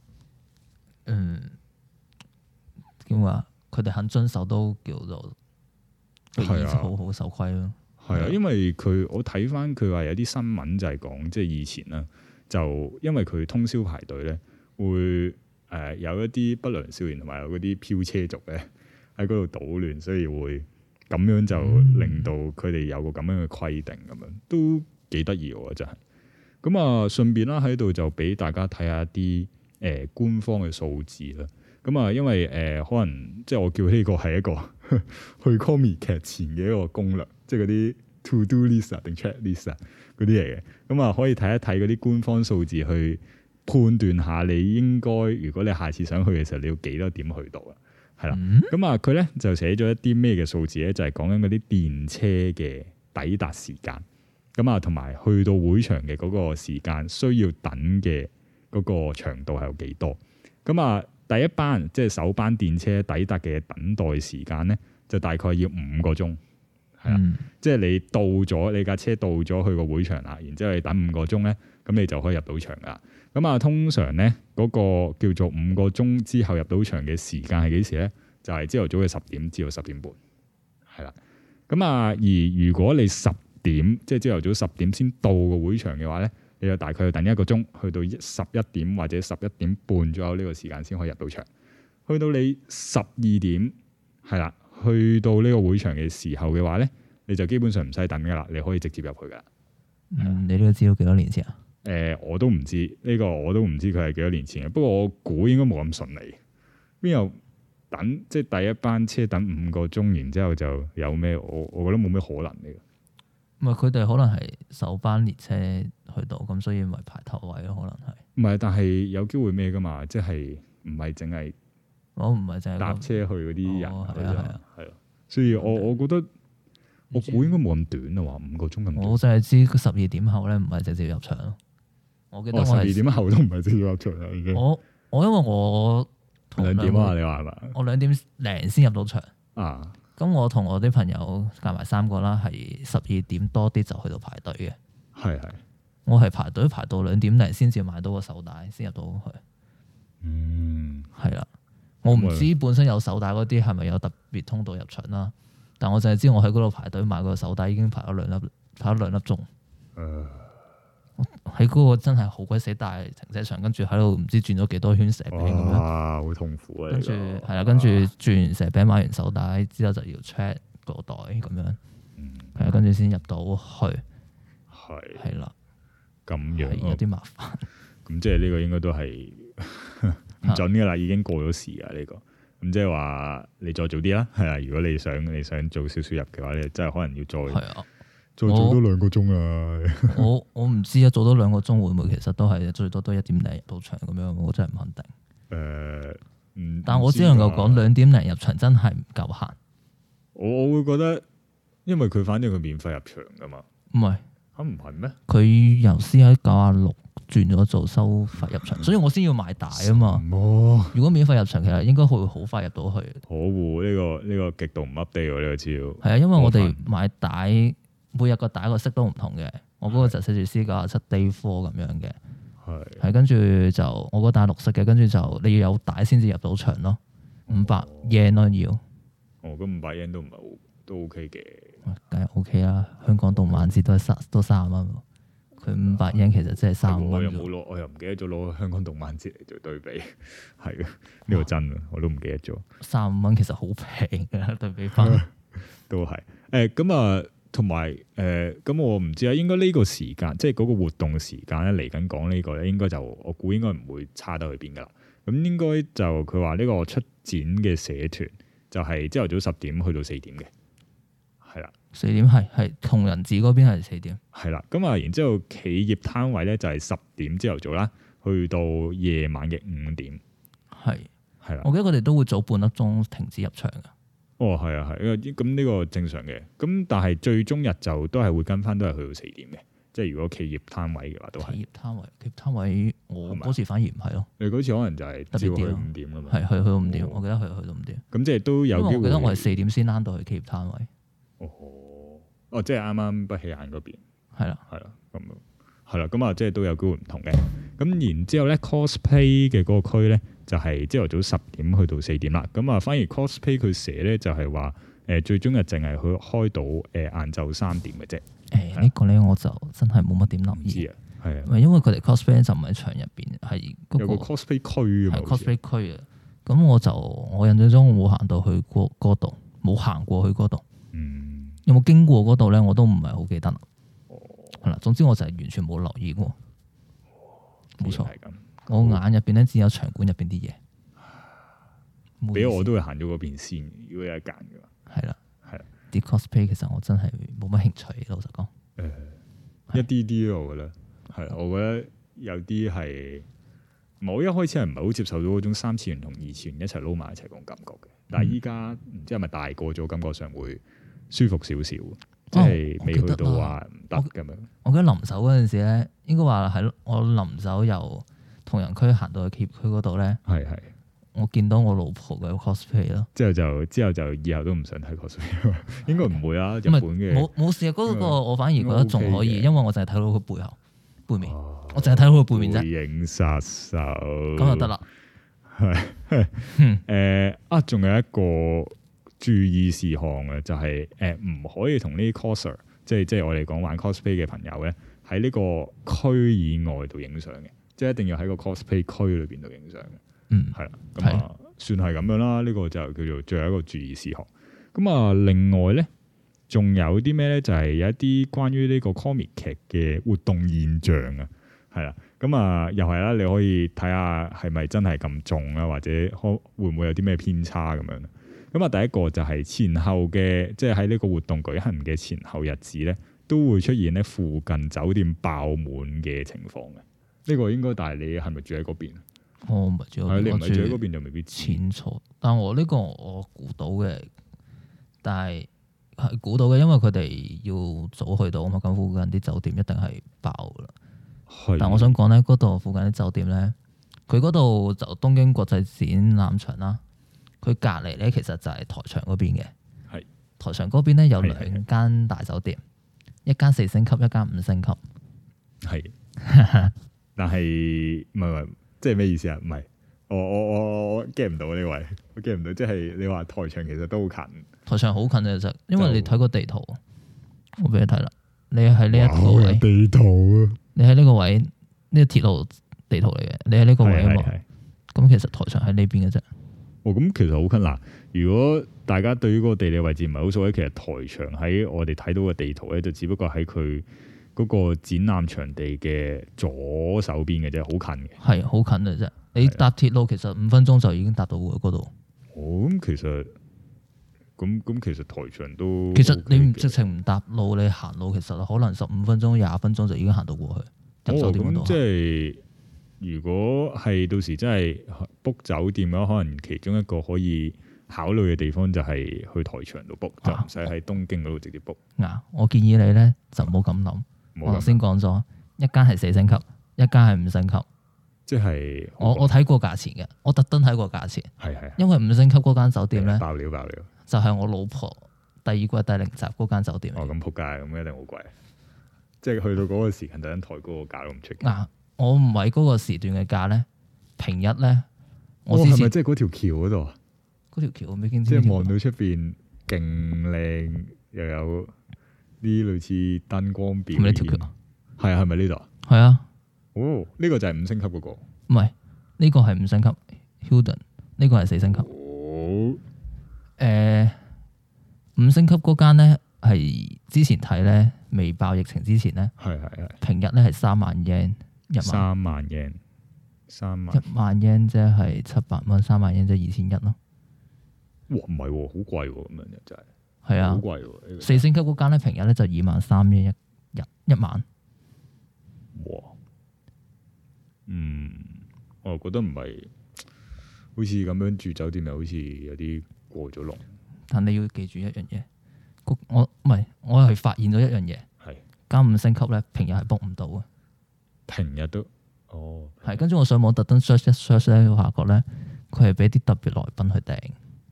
點話佢哋肯遵守都叫做好好守規咯。係啊， 因為我睇翻佢話有啲新聞就係講，即係以前啦，就因為佢通宵排隊咧，會有一啲不良少年同埋有嗰啲飄車族咧喺嗰度搗亂，所以會。咁樣就令到佢哋有個咁樣嘅規定，咁樣都幾得意喎，真係。咁啊，順便啦喺度就俾大家睇下啲官方嘅數字啦。咁啊，因為可能即係我叫呢個係一個去 Comic 劇前嘅一個攻略，即係嗰啲 to do list 定 check list 嗰啲嚟嘅。咁啊，可以睇一睇嗰啲官方數字去判斷下你應該，如果你下次想去嘅時候，你要幾多點去到啊？係啦，咁啊，佢咧就寫咗一啲咩嘅數字咧，就係講緊嗰啲電車嘅抵達時間，咁啊，同埋去到會場嘅嗰個時間需要等嘅嗰個長度係有幾多？咁啊，第一班即係首班電車抵達嘅等待時間咧，就大概要5個鐘，係啦，即係你到咗你架車到咗去個會場啦，然之後你等5個鐘咧，咁你就可以入到場噶。咁啊，通常咧嗰個叫做5個鐘之後入到場嘅時間係幾時咧？就係朝頭早嘅10點至到10點半，係啦。咁啊，而如果你10點即係朝頭早10點先到個會場嘅話咧，你就大概要等1個鐘，去到11點或者11點半左右呢個時間先可以入到場。去到你12點係啦，去到呢個會場嘅時候嘅話咧，你就基本上唔使等噶啦，你可以直接入去噶。 你呢個知道幾多年前啊？ 我都唔知呢個，我都唔知佢係幾多年前嘅。不過我估應該冇咁順利。邊有等即係第一班車等5個鐘，然之後就有咩？我覺得冇咩可能嘅。 唔係佢哋可能係首班列車去到，咁所以咪排頭位咯？可能係。唔係，但係有機會咩噶嘛？即係唔係淨係我唔係淨係搭車去嗰啲人係啊。所以我覺得。我估應該冇咁短啊，話5個鐘咁短。 我就係知12點後咧，唔係直接入場咯。我記得我 12點後都唔係直接入場啦，已經。 我因為我 2點啊，你話係嘛？ 我2點零先入到場啊。 咁我同我啲朋友夾埋3個啦，係12點多啲就去到排隊嘅。 係。 我係排隊排到2點零先至買到個手帶，先入到去。係啦。我唔知本身有手帶嗰啲係咪有特別通道入場啦。但我就係知我喺嗰度排隊買個手帶已經排咗2粒鐘。喺嗰個真係好鬼死大停車場，跟住喺度唔知轉咗幾多圈蛇餅咁樣。 哇，好痛苦啊！ 跟住係啦，跟住轉完蛇餅買完手帶之後就要 check 個袋咁樣。 係啊，跟住先入到去，係啦， 咁樣有啲麻煩。 咁即係呢個應該都係唔準噶啦，已經過咗時啊呢個。咁即係話你再早啲啦，係啊。如果你想做少少入嘅話，你真係可能要再做多2個鐘啊。 我唔知啊，做多2個鐘會唔會其實都係最多都1點零入到場咁樣，我真係唔肯定。但我只能夠講2點零入場真係唔夠閒。我會覺得，因為佢反正佢免費入場噶嘛。 唔係唔係咩？ 佢由 CI96轉咗做收費入場，所以我先要買帶啊嘛。如果免費入場，其實應該會好快入到去。可惡，呢個極度唔 update 喎，呢個資料。係啊，因為我哋買帶每日個帶個色都唔同嘅，我嗰個就寫住 C97 Day 4咁樣嘅。係跟住就我個帶綠色嘅，跟住就你要有帶先至入到場咯，500 yen 咯要。咁 500 yen 都唔係好，都 OK 嘅。 梗係 OK 啦，香港動漫節都30蚊，佢500 yen 其實真係35蚊。 我又唔記得咗攞香港動漫節嚟做對比，係嘅，呢個真啊，我都唔記得咗。 35蚊其實好平嘅，對比翻都係。咁啊，同埋咁我唔知啊，應該呢個時間即係嗰個活動時間咧嚟緊講呢個咧，應該就我估應該唔會差得去邊噶啦。咁應該就佢話呢個出展嘅社團就係朝頭早10點去到4點嘅。係啦 ，4點係同人寺嗰邊係4點。 係啦，咁啊，然之後企業攤位咧就係10點朝頭早啦，去到夜晚嘅5點。係啦， 我記得佢哋都會早半粒鐘停止入場噶。 係啊，咁呢個正常嘅。咁但係最終日就都係會跟翻，都係去到4點嘅。即係如果企業攤位嘅話，都係。企業攤位，我嗰時反而唔係咯。你嗰次可能就係朝去5點啦嘛。係去到5點，我記得去到5點。咁即係都有機會。我記得我係4點先躝到去企業攤位。即係啱啱不起眼嗰邊，係啦，咁啊，即係都有機會唔同嘅。咁然之後咧 cosplay 嘅嗰個區咧，就係朝頭早10點去到4點啦。咁啊，反而 cosplay 佢寫咧就係話，最終日淨係去開到晏晝3點嘅啫。呢個咧我就真係冇乜點留意啊。係啊，因為佢哋 cosplay 就唔喺場入邊，係有個 cosplay 區啊，係 cosplay 區啊。咁我印象中我冇行到去嗰度，冇行過去嗰度。有冇經過嗰度咧？我都唔係好記得啦。係啦，總之我就係完全冇留意過。冇錯，我眼入邊咧只有場館入邊啲嘢。俾我都會行咗嗰邊先，如果有一間嘅話。係啦，啲 cosplay 其實我真係冇乜興趣，老實講。一啲啲咯，我覺得係。我覺得有啲係，我一開始係唔係好接受到嗰種3次元同2次元一齊撈埋一齊嗰種感覺嘅。但係依家唔知係咪大個咗，感覺上會舒服少少，即係未去到話唔得咁樣。我記得臨走嗰陣時咧，應該話係我臨走由同仁區行到去企業區嗰度咧，係我見到我老婆嘅 cosplay 咯。之後就以後都唔想睇 cosplay，應該唔會啊。日本嘅冇事啊，嗰個我反而覺得仲可以，因為我淨係睇到佢背面，我淨係睇到佢背面啫。背影殺手咁就得啦。係仲有一個注意事項啊，就係唔可以同呢啲 coser，即係我哋講玩 cosplay 嘅朋友咧，喺呢個區以外度影相嘅，即係一定要喺個 cosplay 區裏邊度影相嘅。係啦，咁啊，算係咁樣啦。呢個就叫做最後一個注意事項。咁啊，另外咧，仲有啲咩咧？就係有一啲關於呢個 comic 劇嘅活動現象啊，係啦。咁啊，又係啦，你可以睇下係咪真係咁重啊，或者會唔會有啲咩偏差咁樣。咁啊，第一個就係前後嘅，即係喺呢個活動舉行嘅前後日子咧，都會出現咧附近酒店爆滿嘅情況嘅。呢個應該，但係你係咪住喺嗰邊？我唔係住喺嗰邊，你唔係住喺嗰邊就未必清楚。但我呢個我估到嘅，但係估到嘅，因為佢哋要早去到啊嘛，咁附近啲酒店一定係爆噶啦。但我想講咧，嗰度附近啲酒店咧，佢嗰度就東京國際展覽場啦。佢隔離咧，其實就係台場嗰邊嘅。係台場嗰邊咧有2間大酒店，一間4星級，一間5星級。係，但係唔係，即係咩意思啊？唔係，我 get 唔到呢位，我 get 唔到，即係你話台場其實都好近。台場好近嘅其實，因為你睇個地圖，我俾你睇啦。你喺呢一個位地圖啊，你喺呢個位呢個鐵路地圖嚟嘅，你喺呢個位啊嘛。咁其實台場喺呢邊嘅啫。 咁其實好近嗱。如果大家對於嗰個地理位置唔係好熟咧，其實台場喺我哋睇到嘅地圖咧，就只不過喺佢嗰個展覽場地嘅左手邊嘅啫，好近嘅。係好近嘅啫。你搭鐵路其實5分鐘就已經搭到嗰度。 咁其實其實台場都其實你唔直情唔搭路，你行路其實可能15分鐘、20分鐘就已經行到過去入酒店嗰度。 即係如果係到時真係 book 酒店嘅話，可能其中一個可以考慮嘅地方就係去台場度 book，就唔使喺東京嗰度直接 book。 我建議你咧就唔好咁諗。我頭先講咗，一間係4星級，一間係5星級。即係我睇過價錢嘅，我特登睇過價錢。係。因為5星級嗰間酒店咧，爆料，就係我老婆第2季第0集嗰間酒店。咁仆街，咁一定好貴。即係去到嗰個時間，突然抬高個價都唔出奇。我唔係嗰個時段嘅價咧，平日咧，我之前係咪即係嗰條橋嗰度啊？嗰條橋我未見。即係望到出邊勁靚，又有啲類似燈光表演。係咪呢條橋？係咪呢度？係啊。呢個就係5星級嗰個。唔係，呢個係5星級 Hilton， 呢個係4星級。5星級嗰間咧係之前睇咧，未爆疫情之前咧，係平日咧係3萬 yen 1萬。1萬 yen 即係700蚊，3萬 yen 即係2100咯。哇，唔係，好貴咁樣就真係。係啊，好貴喎。4星級嗰間咧平日咧就23000 yen 1晚。哇！我覺得唔係，好似咁樣住酒店又好似有啲過咗龍。但你要記住一樣嘢，我係發現咗一樣嘢，係間5星級咧平日係 book 唔到嘅。平日都係跟住我上網特登 search 一 search 咧，我發覺咧佢係俾啲特別來賓去訂。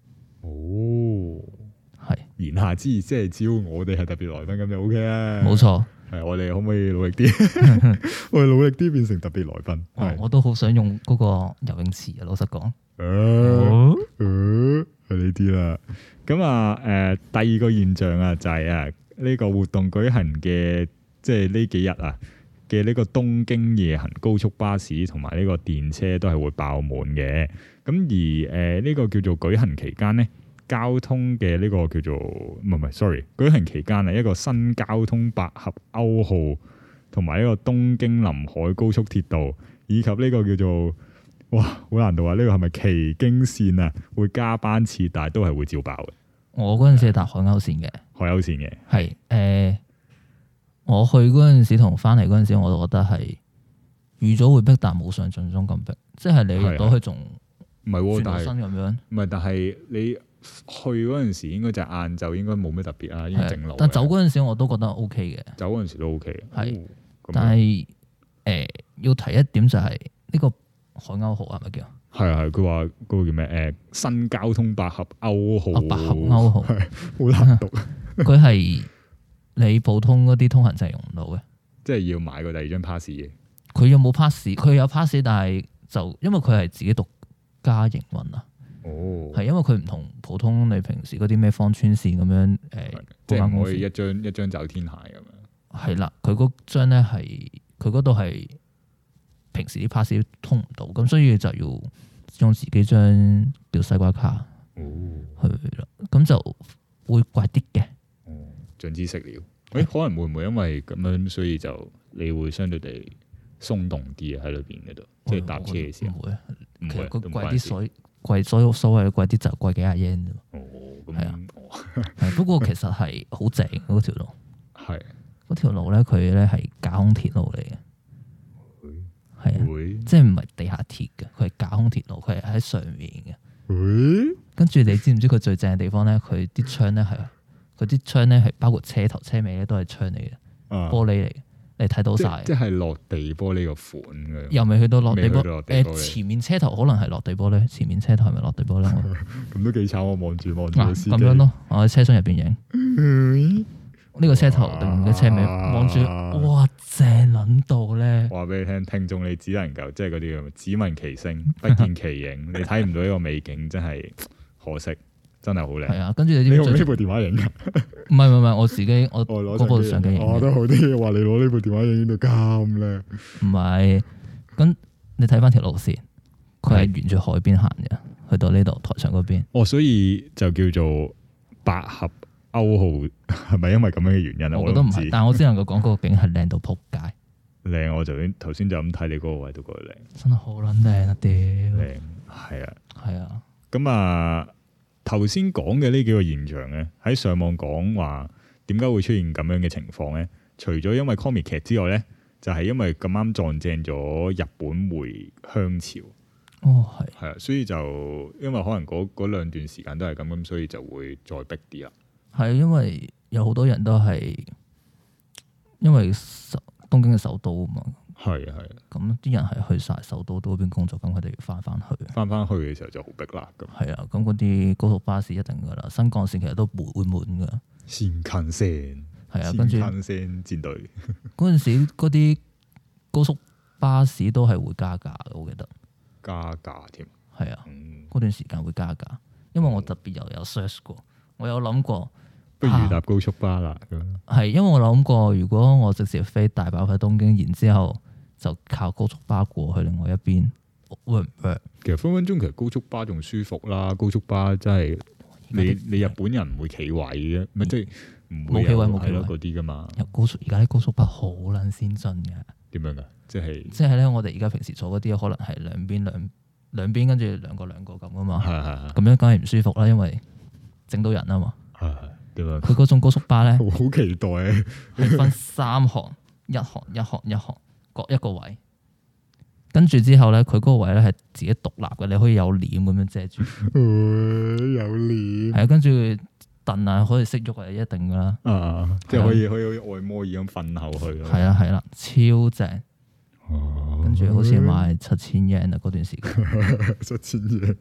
係言下之意，即係只要我哋係特別來賓咁就 OK 啦。冇錯。係，我哋可唔可以努力啲？我哋努力啲變成特別來賓。我都好想用嗰個游泳池啊！老實講，係呢啲啦。咁啊，第二個現象啊，就係呢個活動舉行嘅，即係呢幾日啊嘅呢個東京夜行高速巴士同埋呢個電車都係會爆滿嘅。咁而呢個叫做舉行期間呢，交通嘅呢個叫做唔係 sorry， 舉行期間係一個新交通百合歐號同埋呢個東京臨海高速鐵道，以及呢個叫做哇好難度啊！呢個係咪崎京線啊？會加班次，但係都係會照爆嘅。我嗰陣時係搭海鷗線嘅，海鷗線嘅係我去嗰陣時同翻嚟嗰陣時，我都覺得係預咗會逼，但冇想象中咁逼。即係你入到去仲唔係轉身咁樣？唔係，但係你去嗰陣時應該就係晏晝，應該冇咩特別啊，已經正路。但走嗰陣時我都覺得 O K 嘅，走嗰陣時都 O K。係，但係要提一點就係呢個海鷗號係咪叫？係佢話嗰個叫咩？新交通百合歐號，百合歐號好難讀。佢係你普通嗰啲通行證用唔到嘅，即係要買個第2張 pass 嘅。佢有冇 pass？佢有 pass， 但係就因為佢係自己獨家營運啊。係因為佢唔同普通你平時嗰啲咩芳村線咁樣即係唔可以一張走天鞋咁樣。係啦，佢嗰張咧係佢嗰度係平時啲 pass 通唔到，咁所以就要用自己張叫西瓜卡去啦，咁就會貴啲嘅。長知識了。可能會唔會因為咁樣，所以就你會相對地鬆動啲喺裏邊嗰度，即係搭車嘅時候。唔會，其實佢貴啲貴，所謂嘅貴啲就貴幾廿 yen 啫。係啊，不過其實係好正嗰條路。係嗰條路咧，佢咧係架空鐵路嚟嘅。係啊，即係唔係地下鐵嘅，佢係架空鐵路，佢係喺上面嘅。跟住你知唔知佢最正嘅地方咧？佢啲窗咧係。佢啲窗咧係包括車頭車尾咧都係窗嚟嘅，玻璃嚟嘅，你睇到晒。即係落地玻璃個款嘅。又未去到落地玻璃。前面車頭可能係落地玻璃，前面車頭係咪落地玻璃？咁都幾慘，我望住個司機。咁樣咯，我喺車廂入邊影。呢個車頭定嘅車尾望住，哇，正撚到咧！話俾你聽，聽眾你只能夠即係嗰啲咁，只聞其聲，不見其影，你睇唔到呢個美景，真係可惜。真係好靚，係啊！跟住你用呢部電話影㗎？唔係，我自己我嗰部相機影。我覺得好啲，話你攞呢部電話影到咁靚。唔係，咁你睇翻條路線，佢係沿住海邊行嘅， 去到呢度台上嗰邊。 哦，所以就叫做百合歐號，係咪因為咁樣嘅原因啊？ 我覺得唔係，但我只能夠講嗰個景係靚到撲街。 靚，我頭先就咁睇你嗰個位都覺得靚， 真係好撚靚啊！屌， 靚係啊，係啊。咁啊，頭先講嘅呢幾個現象咧，喺上網講話點解會出現咁樣嘅情況咧？除咗因為 comic 劇之外咧，就係因為咁啱撞正咗日本回鄉潮。 哦，係啊，所以就因為可能嗰兩段時間都係咁，所以就會再逼啲啦。係因為有好多人都係因為東京嘅首都啊嘛。係啊，咁啲人係去晒首都嗰邊工作，咁佢哋要翻去嘅時候就好逼啦。咁係啊，咁嗰啲高速巴士一定噶啦，新幹線其實都會滿噶。 新幹線係啊，跟住新幹線戰隊嗰陣時嗰啲高速巴士都係會加價嘅，我記得。 加價添， 係啊，嗰段時間會加價，因為我特別又有 search 過，我有諗過， 不如搭高速巴啦。 係因為我諗過，如果我直接飛大阪去東京，然之後就靠高速巴過去另外一邊，會唔會？ 其實分分鐘其實高速巴仲舒服啦，高速巴真係你日本人唔會企位嘅，咪即係唔會冇企位嗰啲噶嘛。 有高速，而家啲高速巴好撚先進嘅。 點樣噶？即係咧，我哋而家平時坐嗰啲可能係兩邊跟住兩個咁噶嘛。咁樣梗係唔舒服啦，因為整到人啊嘛。 點樣？ 佢嗰種高速巴咧， 好期待啊！ 係分3行，一行各一個位。跟住之後咧，佢嗰個位咧係自己獨立嘅，你可以有簾咁樣遮住。 有簾。係啊， 跟住凳啊可以識喐係一定噶啦。 即係可以好似按摩椅咁瞓後去。 係啦，超正。跟住好似賣7000 yen 啊，嗰段時間。 7000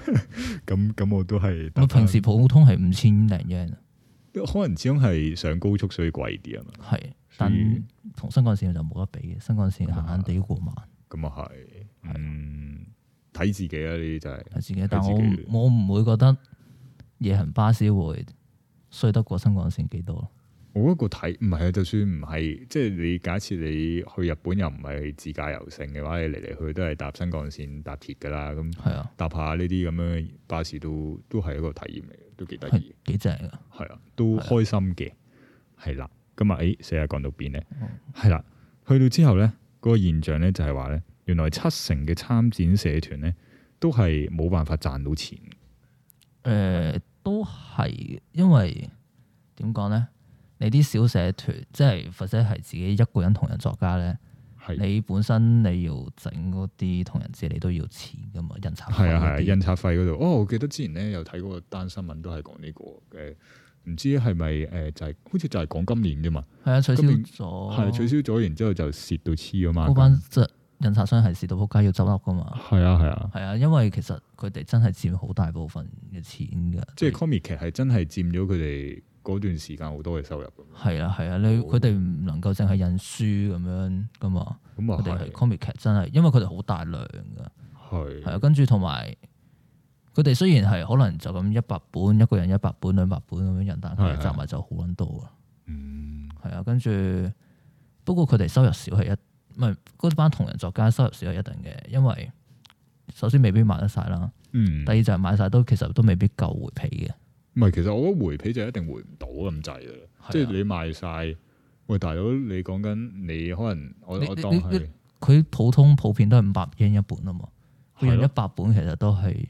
yen，咁我都係。 我平時普通係5000零 yen 啊。 可能始終係上高速所以貴啲啊嘛。 係，但同新幹線就冇得比嘅，新幹線閒閒地過萬。咁啊係， 睇自己啊，呢啲就係。睇自己，但我唔會覺得夜行巴士會衰得過新幹線幾多。 我覺得唔係啊，就算唔係，即係你假設你去日本又唔係自駕遊乘嘅話，你嚟嚟去都係搭新幹線、搭鐵噶啦，咁搭下呢啲咁樣嘅巴士都係一個體驗嚟嘅，都幾得意， 幾正噶。 係啊，都開心嘅。係啦，咁啊，成日講到邊咧？係啦，去到之後咧，嗰個現象咧就係話咧，原來70%嘅參展社團咧都係冇辦法賺到錢。 都係因為點講咧？你啲小社團，即係或者係自己一個人同人作家咧，你本身你要整嗰啲同人誌，你都要錢噶嘛，印刷費。係啊， 印刷費嗰度。我記得之前咧有睇過單新聞，都係講呢個嘅，唔知係咪就係好似就係講今年啫嘛。係啊，取消咗。係取消咗，然之後就蝕到黐啊嘛。嗰班印刷商係蝕到仆街要執笠噶嘛。係啊，因為其實佢哋真係佔好大部分嘅錢噶。即係 comic 劇係真係佔咗佢哋嗰段時間好多嘅收入。 係啊，佢哋唔能夠淨係印書咁樣噶嘛。佢哋係 comic 劇真係，因為佢哋好大量噶。係啊，跟住同埋佢哋雖然係可能就咁100本，一個人100本、200本咁樣印，但係集埋就好撚多啊。係啊，跟住不過佢哋收入少係唔係嗰班同人作家收入少係一定嘅，因為首先未必賣得晒啦。第二就係買晒其實都未必夠回皮嘅。 唔係，其實我覺得回皮就一定回唔到咁滯嘅，即係你賣晒，喂大佬，你講緊你可能我當係佢普遍都係500 yen 一本啊嘛，佢印100本其實都係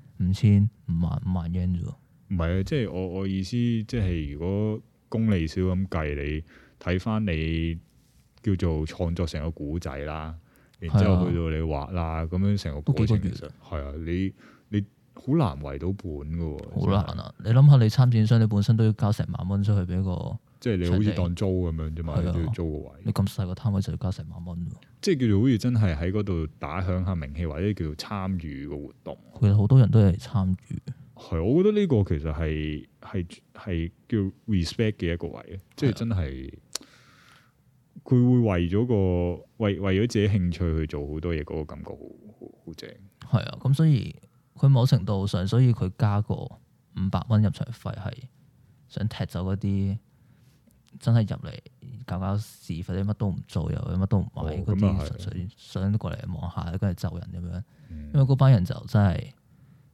5000、5萬 yen 啫喎。 唔係啊，即係我意思，即係如果功利少咁計，你睇翻你叫做創作成個古仔啦，然之後去到你畫啦，咁樣成個過程其實係啊，你好難圍到本噶喎， 好難啊！你諗下，你參展商你本身都要交成萬蚊出去俾個， 即係你好似當租咁樣啫嘛，都要租個位。 你咁細個攤位就要交成萬蚊， 即係叫做好似真係喺嗰度打響下名氣，或者叫做參與個活動。 其實好多人都係參與。 係，我覺得呢個其實係叫 respect 嘅一個位，即係真係佢會為咗為咗自己興趣去做好多嘢，嗰個感覺好正。係啊，咁所以。佢某程度上，所以佢加個500蚊入場費，係想踢走嗰啲真係入嚟搞事或者乜都唔做又乜都唔買嗰啲，純粹想過嚟望下跟住就人咁樣。因為嗰班人就真係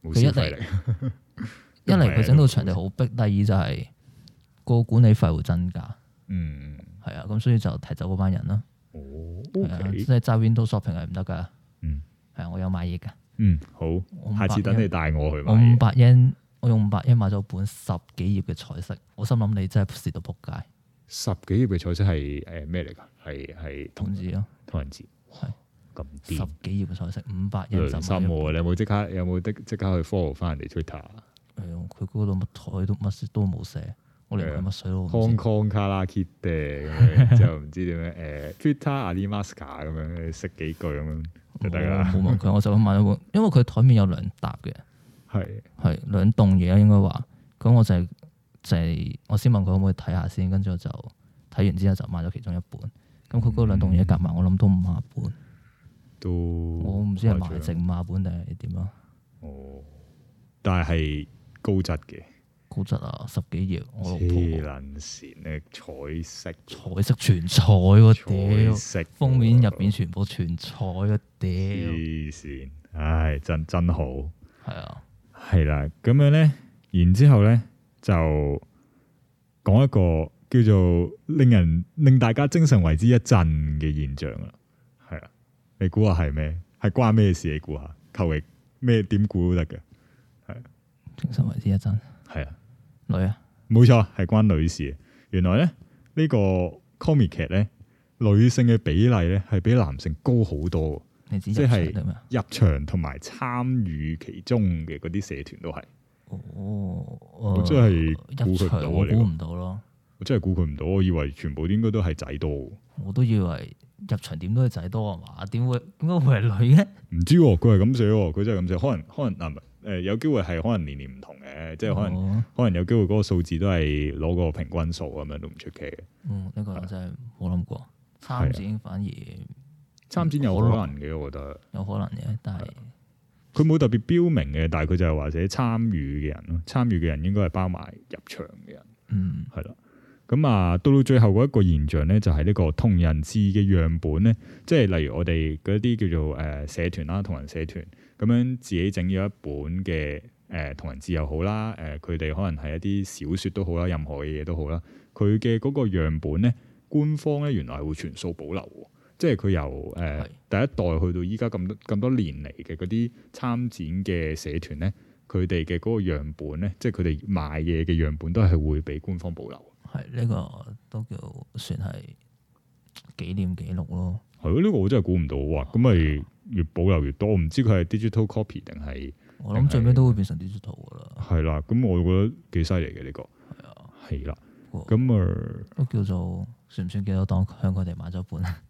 冇消費力。 一嚟佢整到場地好逼，第二就係個管理費會增加。 嗯， 係啊，咁所以就踢走嗰班人啦。 哦， 即係揸 Windows shopping 係唔得㗎。 嗯， 係啊，我有買嘢㗎。 嗯，好，下次等你帶我去買。 我500yen，我用500yen買咗本10幾頁嘅彩色，我心諗你真係蝕到仆街。10 幾頁嘅彩色係咩嚟㗎？係同人誌咯， 同人誌係咁癲。10 幾頁嘅彩色500yen， 良心喎！你有冇即刻去 follow 翻人哋 Twitter？ 佢嗰度乜台都乜都冇寫，我連乜水都唔知。 Hong Kong 卡拉 Kit 咁樣，就唔知點樣Twitter 阿里 Masker 咁樣識幾句咁樣就得啦。 冇問佢，我就咁買咗本，因為佢台面有2沓嘅，係2棟嘢應該話。咁我就係我先問佢可唔可以睇下先，跟住我就睇完之後就買咗其中一本。咁佢嗰2棟嘢夾埋，我諗都50本。我唔知係賣剩50本定係點啊？ 哦，但係高質嘅。 高質啊，10幾頁，我黐撚線咧，彩色全彩喎，屌！封面入邊全部全彩嘅，屌！ 黐線，唉，真好。 係啊， 係啦，咁樣咧，然之後咧就講一個叫做令大家精神為之一振嘅現象啦。係啊，你估下係咩？係關咩事？你估下，求其咩點估都得嘅。係精神為之一振。 係啊。 女啊， 冇錯，係關女士。原來咧呢個 comic 劇咧，女性嘅比例咧係比男性高好多。即係入場同埋參與其中嘅嗰啲社團都係。我真係估佢唔到，我估唔到咯。我真係估佢唔到，我以為全部應該都係仔多。 我都以為入場點都係仔多啊嘛？點解會係女嘅？ 唔知佢係咁寫，佢真係咁寫。可能嗱有機會係可能年唔同嘅，即係可能有機會嗰個數字都係攞個平均數咁樣都唔出奇嘅。 呢個真係冇諗過。參展反而參展有可能嘅，我覺得有可能嘅，但係佢冇特別標明嘅，但係佢就係話寫參與嘅人咯。參與嘅人應該係包埋入場嘅人。係啦。咁啊，到最後嗰一個現象咧，就係呢個同人誌嘅樣本咧，即係例如我哋嗰啲叫做社團啦，同人社團咁樣自己整咗一本嘅同人誌又好啦，佢哋可能係一啲小説都好啦，任何嘅嘢都好啦，佢嘅嗰個樣本咧，官方咧原來係會全數保留喎，即係佢由第一代去到依家咁多年嚟嘅嗰啲參展嘅社團咧，佢哋嘅嗰個樣本咧，即係佢哋賣嘢嘅樣本都係會俾官方保留。 係呢個都叫算係紀念記錄咯。 係咯，呢個我真係估唔到哇！咁咪越保留越多，我唔知佢係 digital copy 定係。我諗最尾都會變成 digital 噶啦。係啦，咁我覺得幾犀利嘅呢個。係啊，係啦。咁都叫做算唔算叫做當向佢哋買咗本啊？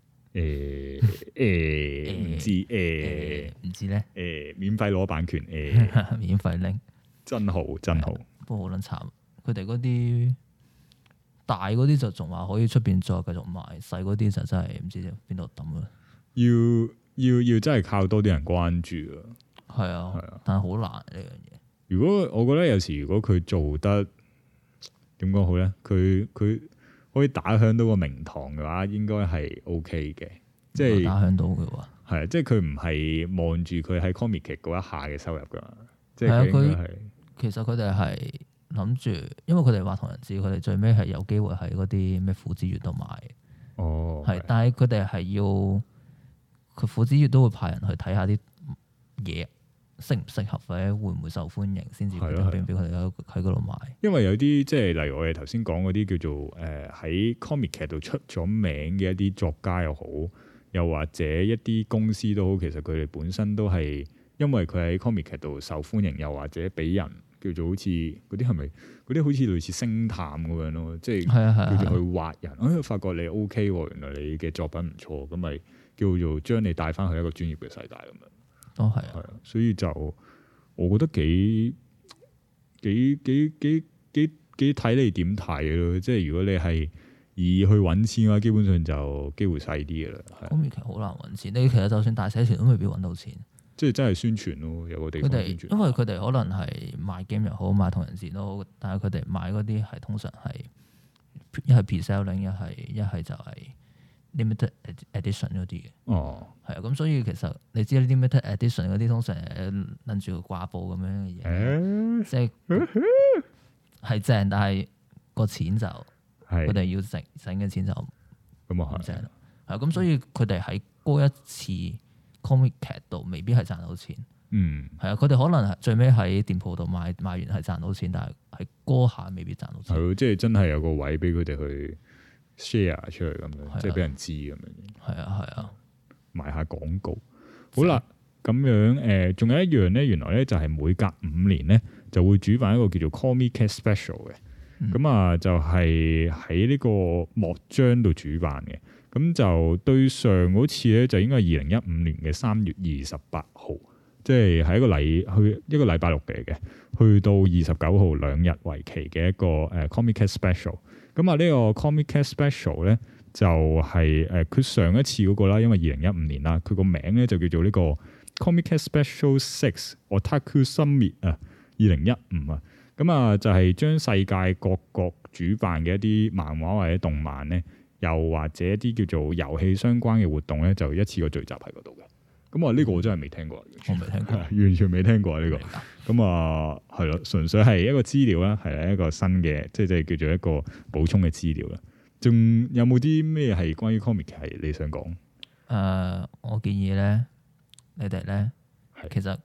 唔知唔知咧。 免費攞版權免費拎， 真好真好。 不過好撚慘，佢哋嗰啲。大嗰啲就仲話可以出邊再繼續賣，細嗰啲就真係唔知邊度抌啦。 要真係靠多啲人關注啊！ 係啊，但係好難呢樣嘢。 如果我覺得有時如果佢做得點講好咧，佢可以打響到個名堂嘅話，應該係 OK 嘅。即係打響到嘅話， 係即係佢唔係望住佢喺 comic 劇嗰一下嘅收入噶嘛。即係佢其實佢哋係。諗住，因為佢哋話同人誌，佢哋最尾係有機會喺嗰啲咩虎之月度賣。係，但係佢哋係要佢虎之月都會派人去睇下啲嘢適唔適合或者會唔會受歡迎，先至決定俾佢哋喺嗰度賣。因為有啲即係例如我哋頭先講嗰啲叫做喺 comic 劇度出咗名嘅一啲作家又好，又或者一啲公司都好，其實佢哋本身都係因為佢喺 comic 劇度受歡迎，又或者俾人。叫做好似嗰啲係咪嗰啲好似類似星探咁樣咯，即係叫做去挖人。發覺你 OK 喎，原來你嘅作品唔錯，咁咪叫做將你帶翻去一個專業嘅世界咁樣。 都係啊，所以就我覺得幾睇你點睇咯。即係如果你係以去揾錢嘅話，基本上就機會細啲嘅啦。 咁其實好難揾錢，你其實就算大社團都未必揾到錢。 即係真係宣傳咯，有個地方宣傳。 因為佢哋可能係賣 game 又好，賣同人誌都好，但係佢哋買嗰啲係通常係一係 pre-selling，一係就係 limited edition 嗰啲嘅。 哦， 係啊，咁所以其實你知 limited edition 嗰啲通常拎住個掛布咁樣嘅嘢，即係係正，但係個錢就佢哋要整嘅錢就咁啊，正咯。係咁，所以佢哋喺嗰一次 comic 劇度未必係賺到錢。嗯，係啊，佢哋可能係最尾喺店鋪度賣完係賺到錢，但係喺嗰下未必賺到錢。係， 即係真係有個位俾佢哋去 share 出去咁樣，即係俾人知咁樣。係啊，賣下廣告。好啦，咁樣仲有一樣咧，原來咧就係每隔5年咧就會主辦一個叫做 Comic Cat Special 嘅。咁啊，就係喺呢個莫章度主辦嘅。咁就對上嗰次咧，就應該係2015年嘅3月28號。即係喺一個禮拜六嚟嘅，去到29號2日為期嘅一個Comic Cat Special。咁啊，呢個 Comic Cat Special 咧就係佢上一次嗰個啦，因為2015年啦，佢個名咧就叫做呢個 Comic Cat Special 6 Otaku Summit 啊，2015啊。咁啊，就係將世界各國主辦嘅一啲漫畫或者動漫咧，又或者一啲叫做遊戲相關嘅活動咧，就一次過聚集喺嗰度嘅。咁啊，呢個我真係未聽過， 我未聽過， 完全未聽過呢個。咁啊，係咯，純粹係一個資料啦，係一個新嘅，即係叫做一個補充嘅資料啦。仲有冇啲咩係關於 comic 係你想講？ 我建議咧，你哋咧，其實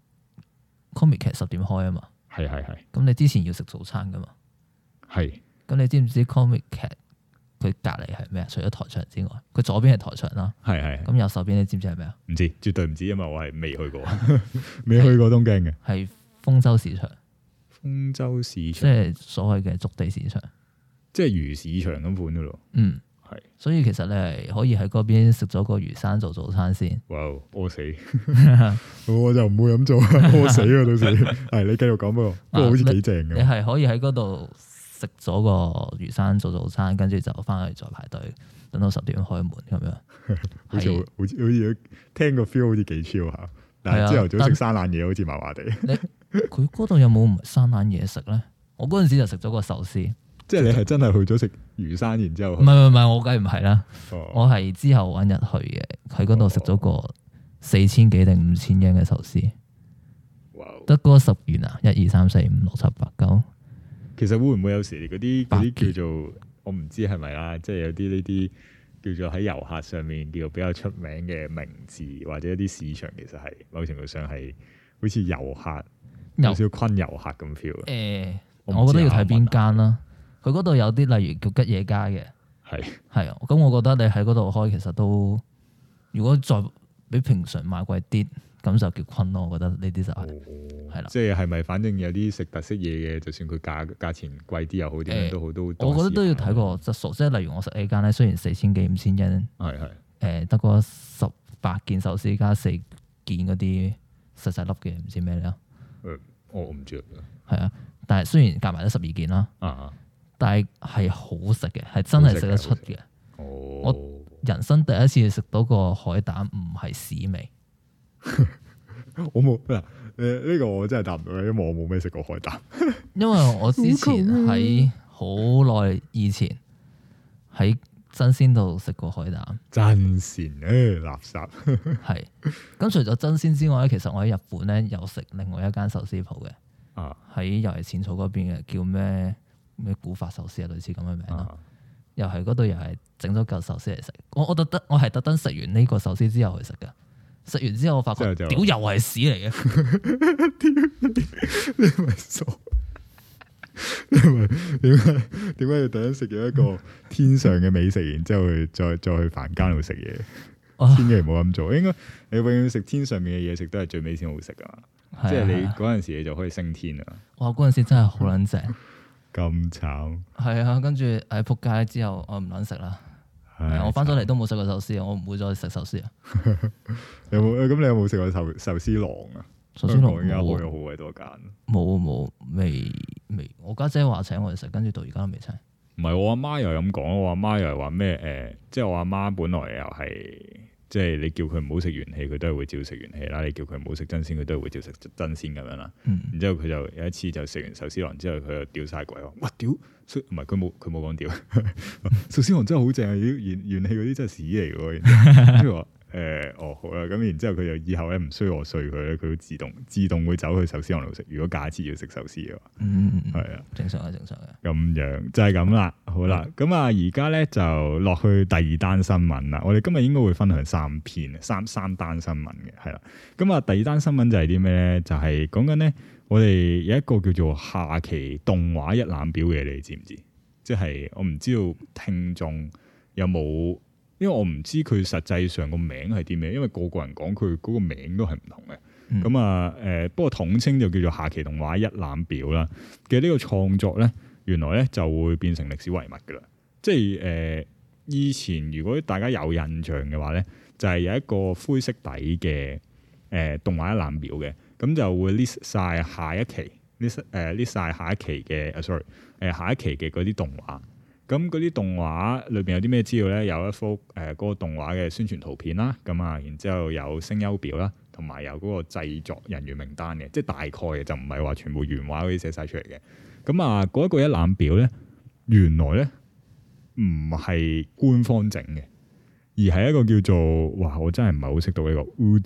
comic 劇10點開啊嘛。係。咁你之前要食早餐噶嘛？係。咁你知唔知 comic 劇？佢隔離係咩啊？除咗台場之外，佢左邊係台場啦。係。咁右手邊你知唔知係咩啊？唔知，絕對唔知，因為我係未去過，未去過東京嘅。係豐洲市場。豐洲市場，即係所謂嘅築地市場，即係魚市場咁款噶咯。嗯，係。所以其實你係可以喺嗰邊食咗個魚生做早餐先。哇！餓死，我就唔會咁做，餓死啊！到時係你繼續講喎，不過好似幾正嘅。你係可以喺嗰度食咗個魚生做早餐，跟住就翻去再排隊，等到10點開門咁樣。好似聽個 feel 好似幾 chill 下，但係朝頭早食生冷嘢好似麻麻地。佢嗰度有冇唔係生冷嘢食咧？我嗰陣時就食咗個壽司。即係你係真係去咗食魚生，然之後唔係，我梗係唔係啦。我係之後揾日去嘅，喺嗰度食咗個4000幾定5000yen嘅壽司。得嗰10元啊！1、2、3、4、5、6、7、8、9。其實會唔會有時嗰啲叫做我唔知係咪啦，即係有啲呢啲叫做喺遊客上面叫做比較出名嘅名字或者一啲市場，其實係某程度上係好似遊客有少少昆遊客咁 feel。我覺得要睇邊間啦。佢嗰度有啲例如叫吉野家嘅，係啊。咁我覺得你喺嗰度開其實都，如果再比平常賣貴啲，咁就叫昆咯。我覺得呢啲就係啦。即係咪反正有啲食特色嘢嘅，就算佢價錢貴啲又好，點樣都好都。我覺得都要睇個質素，即係例如我食呢間咧，雖然4000幾5000yen，得個18件壽司加4件嗰啲細細粒嘅，唔知咩咧。我唔知係啊，但係雖然夾埋都12件啦。但係好食嘅，係真係食得出嘅。我人生第一次食到個海膽唔係屎味。我冇嗱，呢個我真係答唔到，因為我冇咩食過海膽。因為我之前喺好耐以前喺真鮮度食過海膽。真鮮垃圾。係。咁除咗真鮮之外咧，其實我喺日本咧有食另外一間壽司鋪嘅。喺又係淺草嗰邊嘅，叫咩古法壽司啊，類似咁嘅名啦。又係嗰度又係整咗嚿壽司嚟食。我係特登食完呢個壽司之後去食㗎。食完之後我發覺屌又係屎嚟嘅。你咪傻？點解要特登食咗一個天上嘅美食，然之後再去凡間度食嘢？千祈唔好咁做。應該你永遠食天上面嘅嘢食都係最尾先好食㗎嘛。即係你嗰陣時你就可以升天啦。哇！嗰陣時真係好撚正。咁慘。係啊，跟住喺仆街之後，我唔撚食啦。我翻咗嚟都冇食過壽司，我唔會再食壽司啊。你有冇食過壽司郎啊？壽司郎而家開咗好鬼多間。冇，未。我家姐話請我哋食，跟住到而家都未請。唔係，我阿媽又咁講，我阿媽又係話咩？即係我阿媽本來又係即係你叫佢唔好食元氣，佢都係會照食元氣啦。你叫佢唔好食真鮮，佢都係會照食真鮮咁樣啦。然之後佢就有一次就食完壽司郎之後，佢就屌晒鬼話，哇屌！唔係佢冇講屌，壽司郎真係好正啊！元氣嗰啲真係屎嚟喎。跟住話好啦，咁然之後佢就以後咧唔需要我碎佢咧，佢會自動會走去壽司郎度食。如果假設要食壽司嘅話，係啊，正常嘅。咁樣就係咁啦。好啦，咁啊而家咧就落去第二單新聞啦。我哋今日應該會分享三單新聞嘅，係啦。咁啊第二單新聞就係啲咩咧？就係講緊咧，我哋有一個叫做下期動畫一覽表嘅，你知唔知？即係我唔知道聽眾有冇。因為我唔知佢實際上個名係啲咩，因為個人講佢嗰個名都係唔同嘅。咁不過統稱就叫做下期動畫一覽表啦。嘅呢個創作咧，原來咧就會變成歷史遺物噶啦。即係以前如果大家有印象嘅話咧，就係有一個灰色底嘅動畫一覽表嘅，咁就會 list 晒下一期 list 晒下一期嘅下一期嘅嗰啲動畫。咁嗰啲動畫裏邊有啲咩資料咧？有一幅嗰個動畫嘅宣傳圖片啦，咁啊，然之後有聲優表啦，同埋有嗰個製作人員名單嘅，即係大概嘅，就唔係話全部原畫嗰啲寫晒出嚟嘅。咁啊，嗰一個一覽表咧，原來咧唔係官方整嘅，而係一個叫做哇，我真係唔係好識讀呢個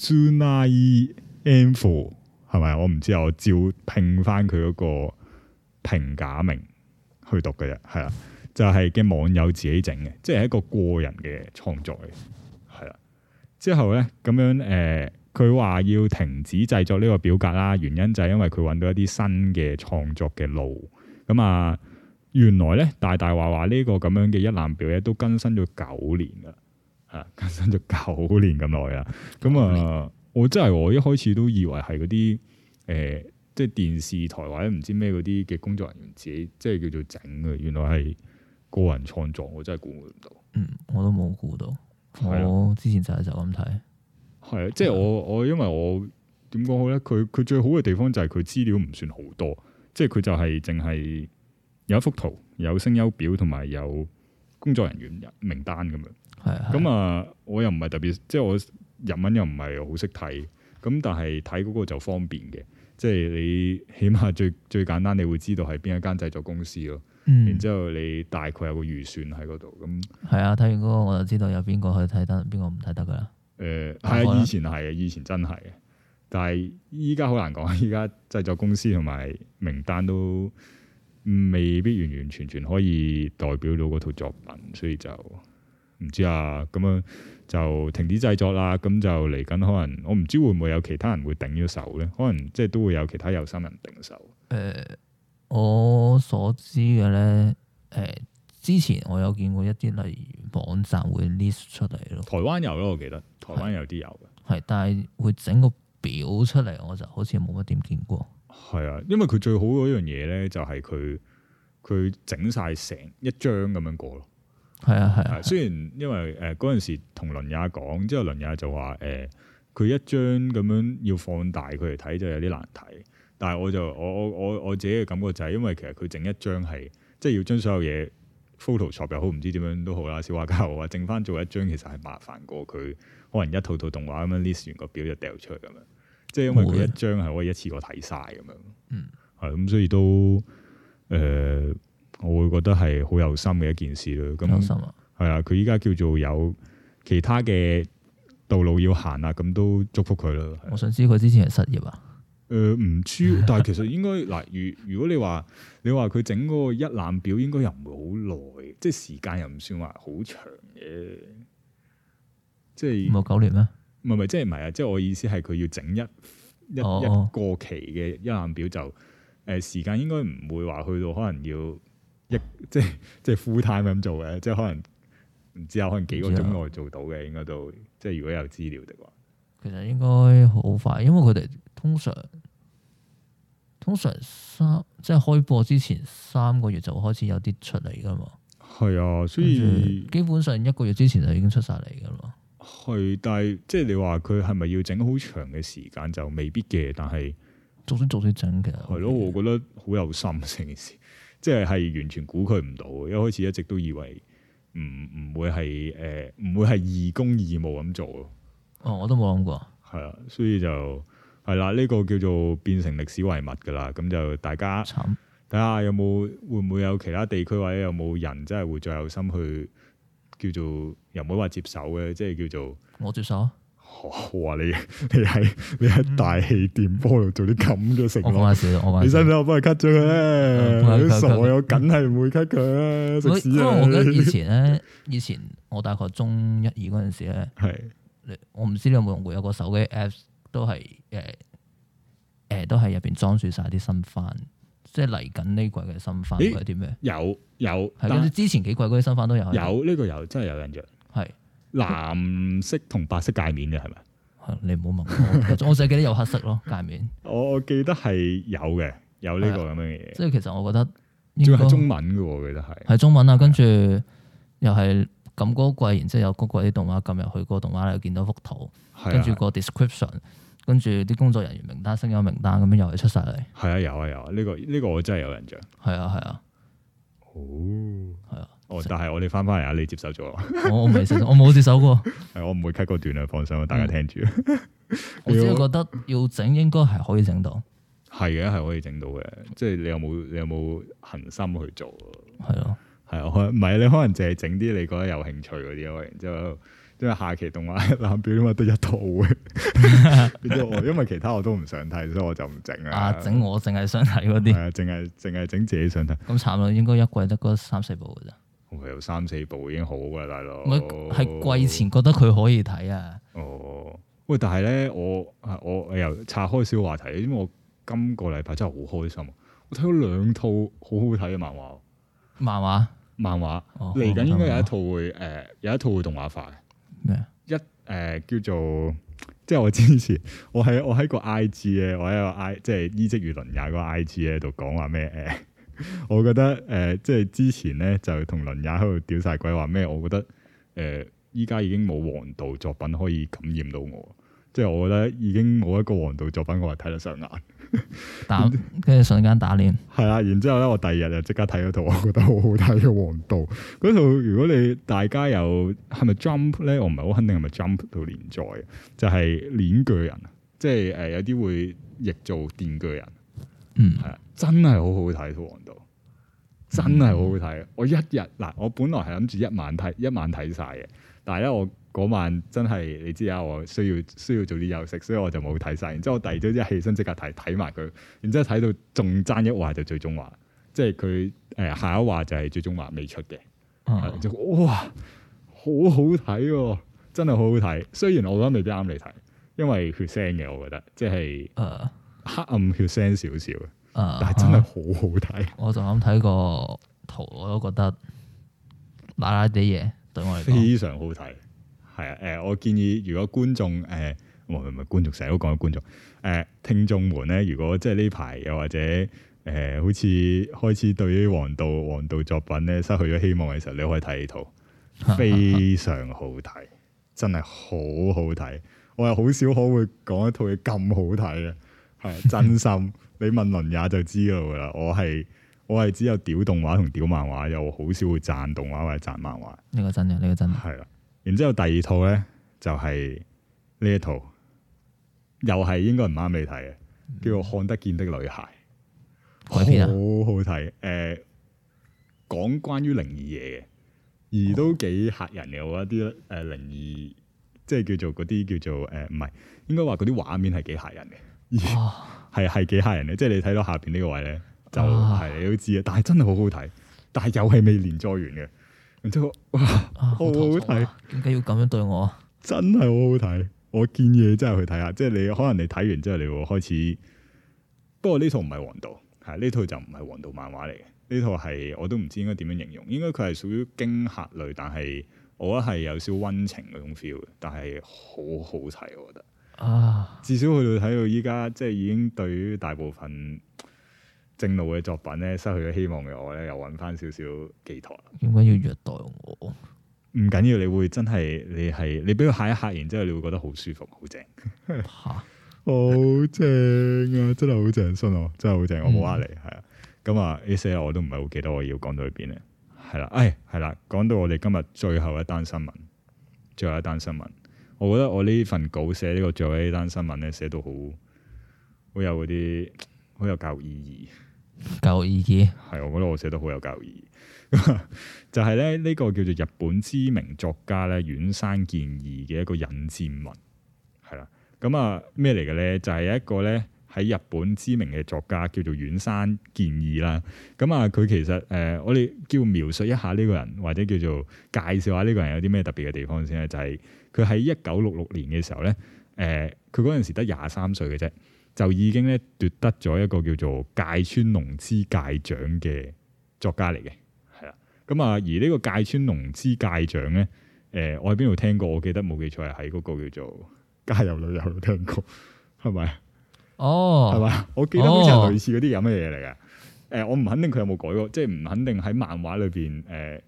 Uzunai Info 係咪？我唔知啊，我照拼翻佢嗰個平假名去讀嘅啫，係啦。就係嘅網友自己整嘅，即係一個個人嘅創作嚟，係啦。之後咧咁樣佢話要停止製作呢個表格啦，原因就係因為佢揾到一啲新嘅創作嘅路。咁啊，原來咧大話呢個咁樣嘅一覽表咧都更新咗9年噶啦，係更新咗9年咁耐啦。咁啊，我一開始都以為係嗰啲即係電視台或者唔知咩嗰啲嘅工作人員自己即係叫做整嘅，原來係個人創作，我真係估唔到。 我都冇估到。我之前就咁睇。 係啊，即係我因為我點講好咧？佢最好嘅地方就係佢資料唔算好多，即係佢就係淨係有一幅圖、有聲優表同埋有工作人員名單咁樣。係咁啊，我又唔係特別，即係我日文又唔係好識睇，咁但係睇嗰個就方便嘅，即係你起碼最簡單，你會知道係邊一間製作公司咯。然之後你大概有個預算喺嗰度，咁係啊，睇完嗰個我就知道有邊個可以睇得，邊個唔睇得噶啦。係啊，以前真係嘅，但係依家好難講。依家製作公司同埋名單都未必完完全全可以代表到嗰套作品，所以就唔知啊。咁樣就停止製作啦。咁就嚟緊，可能我唔知會唔會有其他人會頂咗手咧？可能即係都會有其他有心人頂手。 我所知嘅咧，之前我有見過一啲例如網站會 list 出嚟咯。台灣有咯，我記得台灣有啲有嘅。係，但係會整個表出嚟，我就好似冇乜點見過。係啊，因為佢最好嗰樣嘢咧，就係佢整晒成一張咁樣過咯。係啊。雖然因為嗰陣時同倫也講，之後倫也就話佢一張咁樣要放大佢嚟睇就有啲難睇。但係我自己嘅感覺就係，因為其實佢整一張係即係要將所有嘢 Photoshop 又好，唔知點樣都好啦，小畫家好啊，整翻做一張其實係麻煩過佢可能一套動畫咁樣 list 完個表就掉出去咁樣，即係因為佢一張係可以一次過睇晒咁樣。係咁，所以都我會覺得係好有心嘅一件事咯。咁有心啊，係啊，佢依家叫做有其他嘅道路要行啊，咁都祝福佢咯。我想知佢之前係失業啊？唔知，但係其實應該嗱，如果你話佢整嗰個一覽表，應該又唔會好耐，即係時間又唔算話好長嘅，即係冇9年咩？唔係，即係唔係啊？即係我意思係佢要整一個期嘅一覽表就時間應該唔會話去到可能要即係 full time 咁做嘅，即係可能唔知可能幾個鐘內做到嘅，應該都即係如果有資料的話，其實應該好快，因為佢哋通常即係開播之前3個月就開始有啲出嚟噶嘛。係啊，所以基本上1個月之前就已經出晒嚟噶嘛。係，但係即係你話佢係咪要整好長嘅時間就未必嘅，但係逐啲整其實係咯，我覺得好有心成件事，即係完全估佢唔到。一開始一直都以為唔會係唔會係義工義務咁做咯。 哦，我都冇諗過。 係啊，所以就係啦，呢個叫做變成歷史遺物㗎啦。咁就大家睇下有冇會唔會有其他地區或者有冇人真係會再有心去叫做又唔好話接手嘅，即係叫做我接手。 哇！你喺大氣電波度做啲咁嘅承諾，我講下笑，你使唔使我幫你 cut 咗佢咧？你傻我梗係唔會 cut 佢啦，食屎啊！因為我記得以前我大概中一二嗰陣時咧，我唔知你有冇用過，有個手機 apps 都係都係入邊裝住晒啲新番，即係嚟緊呢季嘅新番係啲咩？有係跟住之前幾季嗰啲新番都有， 呢個有真係有印象，係。藍色同白色界面嘅係咪？ 你唔好問我，我淨係記得有黑色咯界面。 我記得係有嘅，有呢個咁樣嘅嘢。 即係其實我覺得仲係中文嘅，我記得係中文啊。跟住又係撳嗰個季，然之後有嗰個啲動畫撳入去，個動畫又見到幅圖，跟住個 description，跟住啲工作人員名單、聲優名單咁樣又係出晒嚟。係啊， 有啊，呢個我真係有印象。 係啊。 哦，係啊。但係我哋翻嚟啊！你接手咗？ 我冇接手過。 係我唔會 cut 嗰段啊，放心，大家聽住。 我只係覺得要整應該係可以整到。 係嘅，係可以整到嘅。即係你有冇恆心去做？ 係咯， 係啊，唔係你可能淨係整啲你覺得有興趣嗰啲咯。然之後，因為下期動畫藍表啊嘛，得一套嘅。因為其他我都唔想睇，所以我就唔整啊。 整我淨係想睇嗰啲。 係啊，淨係整自己想睇。 咁慘咯，應該一季得嗰3-4部嘅咋。 有3-4部已經好噶啦，大佬。 係季前覺得佢可以睇啊。 哦，喂，但係咧，我又岔開少話題，因為我今個禮拜真係好開心，我睇咗2套好好睇嘅漫畫。漫畫嚟緊應該有一套會動畫化嘅。 咩？ 叫做即係我之前我喺個 IG 咧，我喺個即係伊職與倫也嗰個 IG 咧度講話咩我覺得即係之前咧就同倫也喺度屌晒鬼話咩？我覺得依家已經冇王道作品可以感染到我，即係我覺得已經冇一個王道作品我係睇得上眼， 跟住瞬間打臉。係啊，然之後咧我第2日就即刻睇咗套我覺得好好睇嘅《王道》嗰套。如果你大家有係咪 Jump 咧？我唔係好肯定係咪 Jump 度連載，就係鏈鋸人，即係有啲會譯做電鋸人。係啊，真係好好睇《王道》，真係好好睇。我一日嗱，我本來係諗住一晚睇晒嘅，但係咧我嗰晚真係你知啊，我需要做啲休息，所以我就冇睇晒。然之後我第2朝一起身即刻睇埋佢，然之後睇到仲爭一話就最終話，即係佢下一話就係最終話未出嘅。就哇，好好睇喎，真係好好睇。雖然我覺得未必啱你睇，因為血腥嘅，我覺得即係黑暗血腥少少，但係真係好好睇。 我就咁睇個圖，我都覺得辣辣啲嘢，對我嚟講非常好睇。係啊，我建議如果觀眾唔係觀眾，成日都講觀眾聽眾們咧，如果即係呢排又或者好似開始對於王道作品咧失去咗希望嘅時候，你可以睇呢套，非常好睇，真係好好睇。我係好少可會講一套嘢咁好睇嘅。係真心，你問倫也就知道噶啦。我係只有屌動畫同屌漫畫，又好少會讚動畫或者讚漫畫。 呢個真嘅，係啦。然之後第2套咧就係呢一套，又係應該唔啱你睇嘅，叫做《看得見的女孩》。 改編啊， 好好睇。講關於靈異嘢嘅，而都幾嚇人嘅。我覺得啲靈異，即係叫做嗰啲叫做唔係，應該話嗰啲畫面係幾嚇人嘅。係幾嚇人嘅，即係你睇到下邊呢個位咧，就係你都知啊。但係真係好好睇，但係又係未連載完嘅。然之後哇，好好睇， 點解要咁樣對我啊？ 真係好好睇，我建議你真係去睇下。即係你可能你睇完之後，你會開始。不過呢套唔係王道，係呢套就唔係王道漫畫嚟嘅。呢套係我都唔知應該點樣形容，應該佢係屬於驚嚇類，但係我覺得係有少溫情嗰種 feel 嘅，但係好好睇，我覺得。至少去到睇到依家，即係已經對於大部分正路嘅作品咧，失去咗希望嘅我咧，又揾翻少少寄託。 點解要虐待我？ 唔緊要，你會真係你俾佢嚇一嚇，然之後你會覺得好舒服，好正。好正啊！真係好正，信我，真係好正，我冇呃你，係啊。咁啊，呢些我都唔係好記得我要講到去邊咧。 係啦，係啦，講到我哋今日最後一單新聞，我覺得我呢份稿寫呢個最後一單新聞咧，寫到好有嗰啲好有教育意義。教育意義係，我覺得我寫得好有教育意義。就係咧呢個叫做日本知名作家咧遠山健二嘅一個引薦文，係啦。咁啊咩嚟嘅咧？就係一個咧喺日本知名嘅作家叫做遠山健二啦。咁啊佢其實我哋叫描述一下呢個人，或者叫做介紹下呢個人有啲咩特別嘅地方先咧。就係佢喺1966年嘅時候咧，佢嗰陣時得23歲嘅啫，就已經咧奪得咗一個叫做芥川龍之介獎嘅作家嚟嘅，係啦。咁啊，而呢個芥川龍之介獎咧，我喺邊度聽過？我記得冇記錯係喺嗰個叫做《家有女友》度聽過，係咪？哦，係咪？我記得好似係類似嗰啲咁嘅嘢嚟嘅。我唔肯定佢有冇改過，即係唔肯定喺漫畫裏邊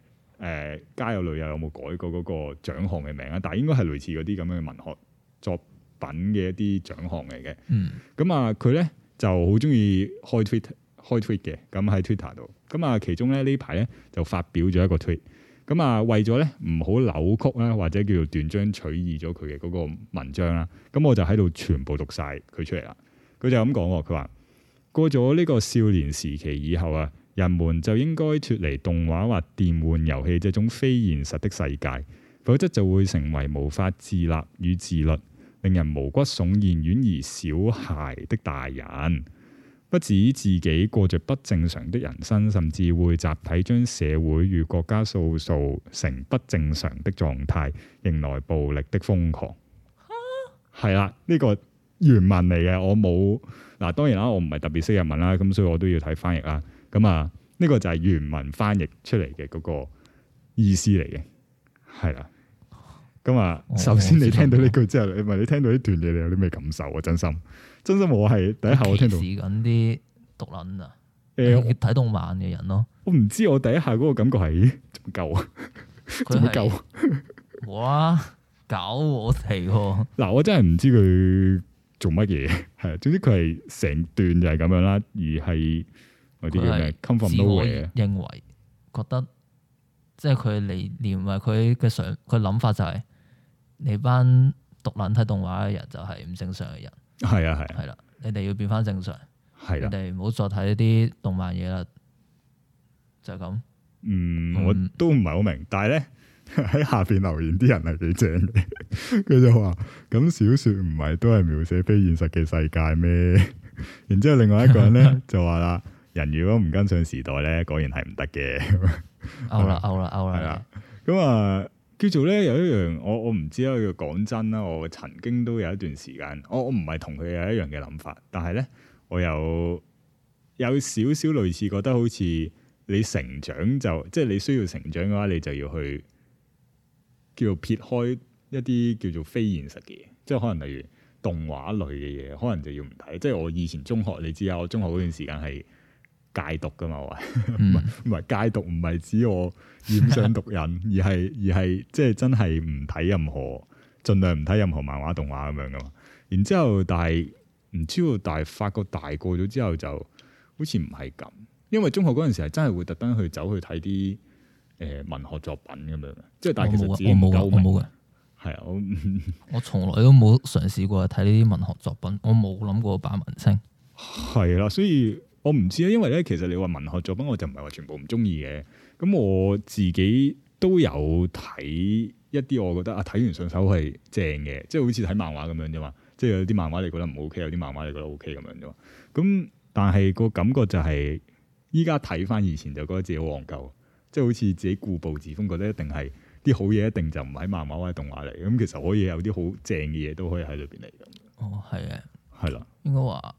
《家有女友》有冇改過嗰個獎項嘅名啊？但係應該係類似嗰啲咁樣嘅文學作品嘅一啲獎項嚟嘅。咁啊，佢咧就好中意開 tweet 嘅，咁喺 Twitter 度。咁啊，其中咧呢排咧就發表咗一個 tweet。咁啊，為咗咧唔好扭曲啦，或者叫做斷章取義咗佢嘅嗰個文章啦，咁我就喺度全部讀晒佢出嚟啦。佢就咁講，佢話過咗呢個少年時期以後啊，人們就應該脫離動畫或電玩遊戲這種非現實的世界，否則就會成為無法自立與自律，令人毛骨悚然、遠離小孩的大人。不止自己過着不正常的人生，甚至會集體將社會與國家塑造成不正常的狀態，迎來暴力的瘋狂。係啦，呢個原文嚟嘅，我冇嗱，當然啦，我唔係特別識日文啦，咁所以我都要睇翻譯啦。咁啊，呢個就係原文翻譯出嚟嘅嗰個意思嚟嘅，係啦。咁啊，首先你聽到呢句之後，你聽到呢段嘢，你有啲咩感受啊？真心我係第一下我聽到歧視緊啲毒撚啊！睇動漫嘅人咯，我唔知我第一下嗰個感覺係仲唔夠啊？仲唔夠？哇！搞我哋喎！嗱，我真係唔知佢做乜嘢，係總之佢係成段就係咁樣啦，而係嗰啲叫咩 come from nowhere 嘅，認為覺得即係佢理念或佢嘅佢諗法就係你班毒撚睇動畫嘅人就係唔正常嘅人。係啊，係啦，你哋要變翻正常，係啦，你哋唔好再睇呢啲動漫嘢啦，就係咁。我都唔係好明，但係咧喺下邊留言啲人係幾正嘅，佢就話咁小說唔係都係描寫非現實嘅世界咩？然之後另外一個人咧就話啦，人如果唔跟上時代咧，果然係唔得嘅。勾啦，係啦，咁啊。叫做咧有一樣，我唔知啦。佢講真啦，我曾經都有一段時間，我唔係同佢有一樣嘅諗法，但係咧我有少少類似，覺得好似你成長就即係你需要成長嘅話，你就要去叫做撇開一啲叫做非現實嘅嘢，即係可能例如動畫類嘅嘢，可能就要唔睇。即係我以前中學，你知啊，我中學嗰段時間係戒毒噶嘛，我唔係戒毒，唔係指我染上毒癮，而係即係真係唔睇任何，盡量唔睇任何漫畫動畫咁樣噶嘛。然之後但係唔知道，但係發覺大個咗之後就好似唔係咁，因為中學嗰陣時係真係會特登去走去睇啲文學作品咁樣，即係但係其實自己唔夠明。我冇嘅，係啊，我從來都冇嘗試過睇呢啲文學作品，我冇諗過扮文青。係啦，所以。我唔知啊，因為咧，其實你話文學作品，我就唔係話全部唔中意嘅。咁我自己都有睇一啲，我覺得啊，睇完上手係正嘅，即係好似睇漫畫咁樣啫嘛。即係有啲漫畫你覺得唔 OK，有啲漫畫你覺得 OK 咁樣啫嘛。咁但係個感覺就係依家睇翻以前就覺得自己好戇鳩，即係好似自己固步自封，覺得一定係啲好嘢，一定就唔喺漫畫或者動畫嚟。咁其實可以有啲好正嘅嘢都可以喺裏邊嚟咁。哦，係嘅，係啦，應該話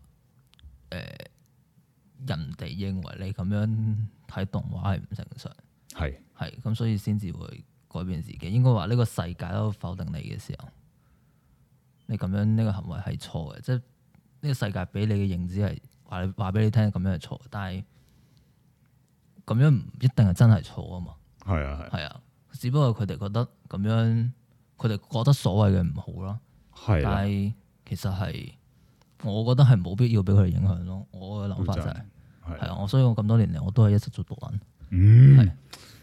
人哋認為你咁樣睇動畫係唔正常，係咁，所以先至會改變自己。應該話呢個世界都否定你嘅時候，你咁樣呢個行為係錯嘅，即係呢個世界俾你嘅認知係話俾你聽咁樣係錯，但係咁樣唔一定係真係錯啊嘛。係啊，只不過佢哋覺得咁樣，佢哋覺得所謂嘅唔好啦。係，但係其實係。我覺得係冇必要俾佢哋影響咯。我嘅諗法就係啊，所以我咁多年嚟我都係一直做毒撚。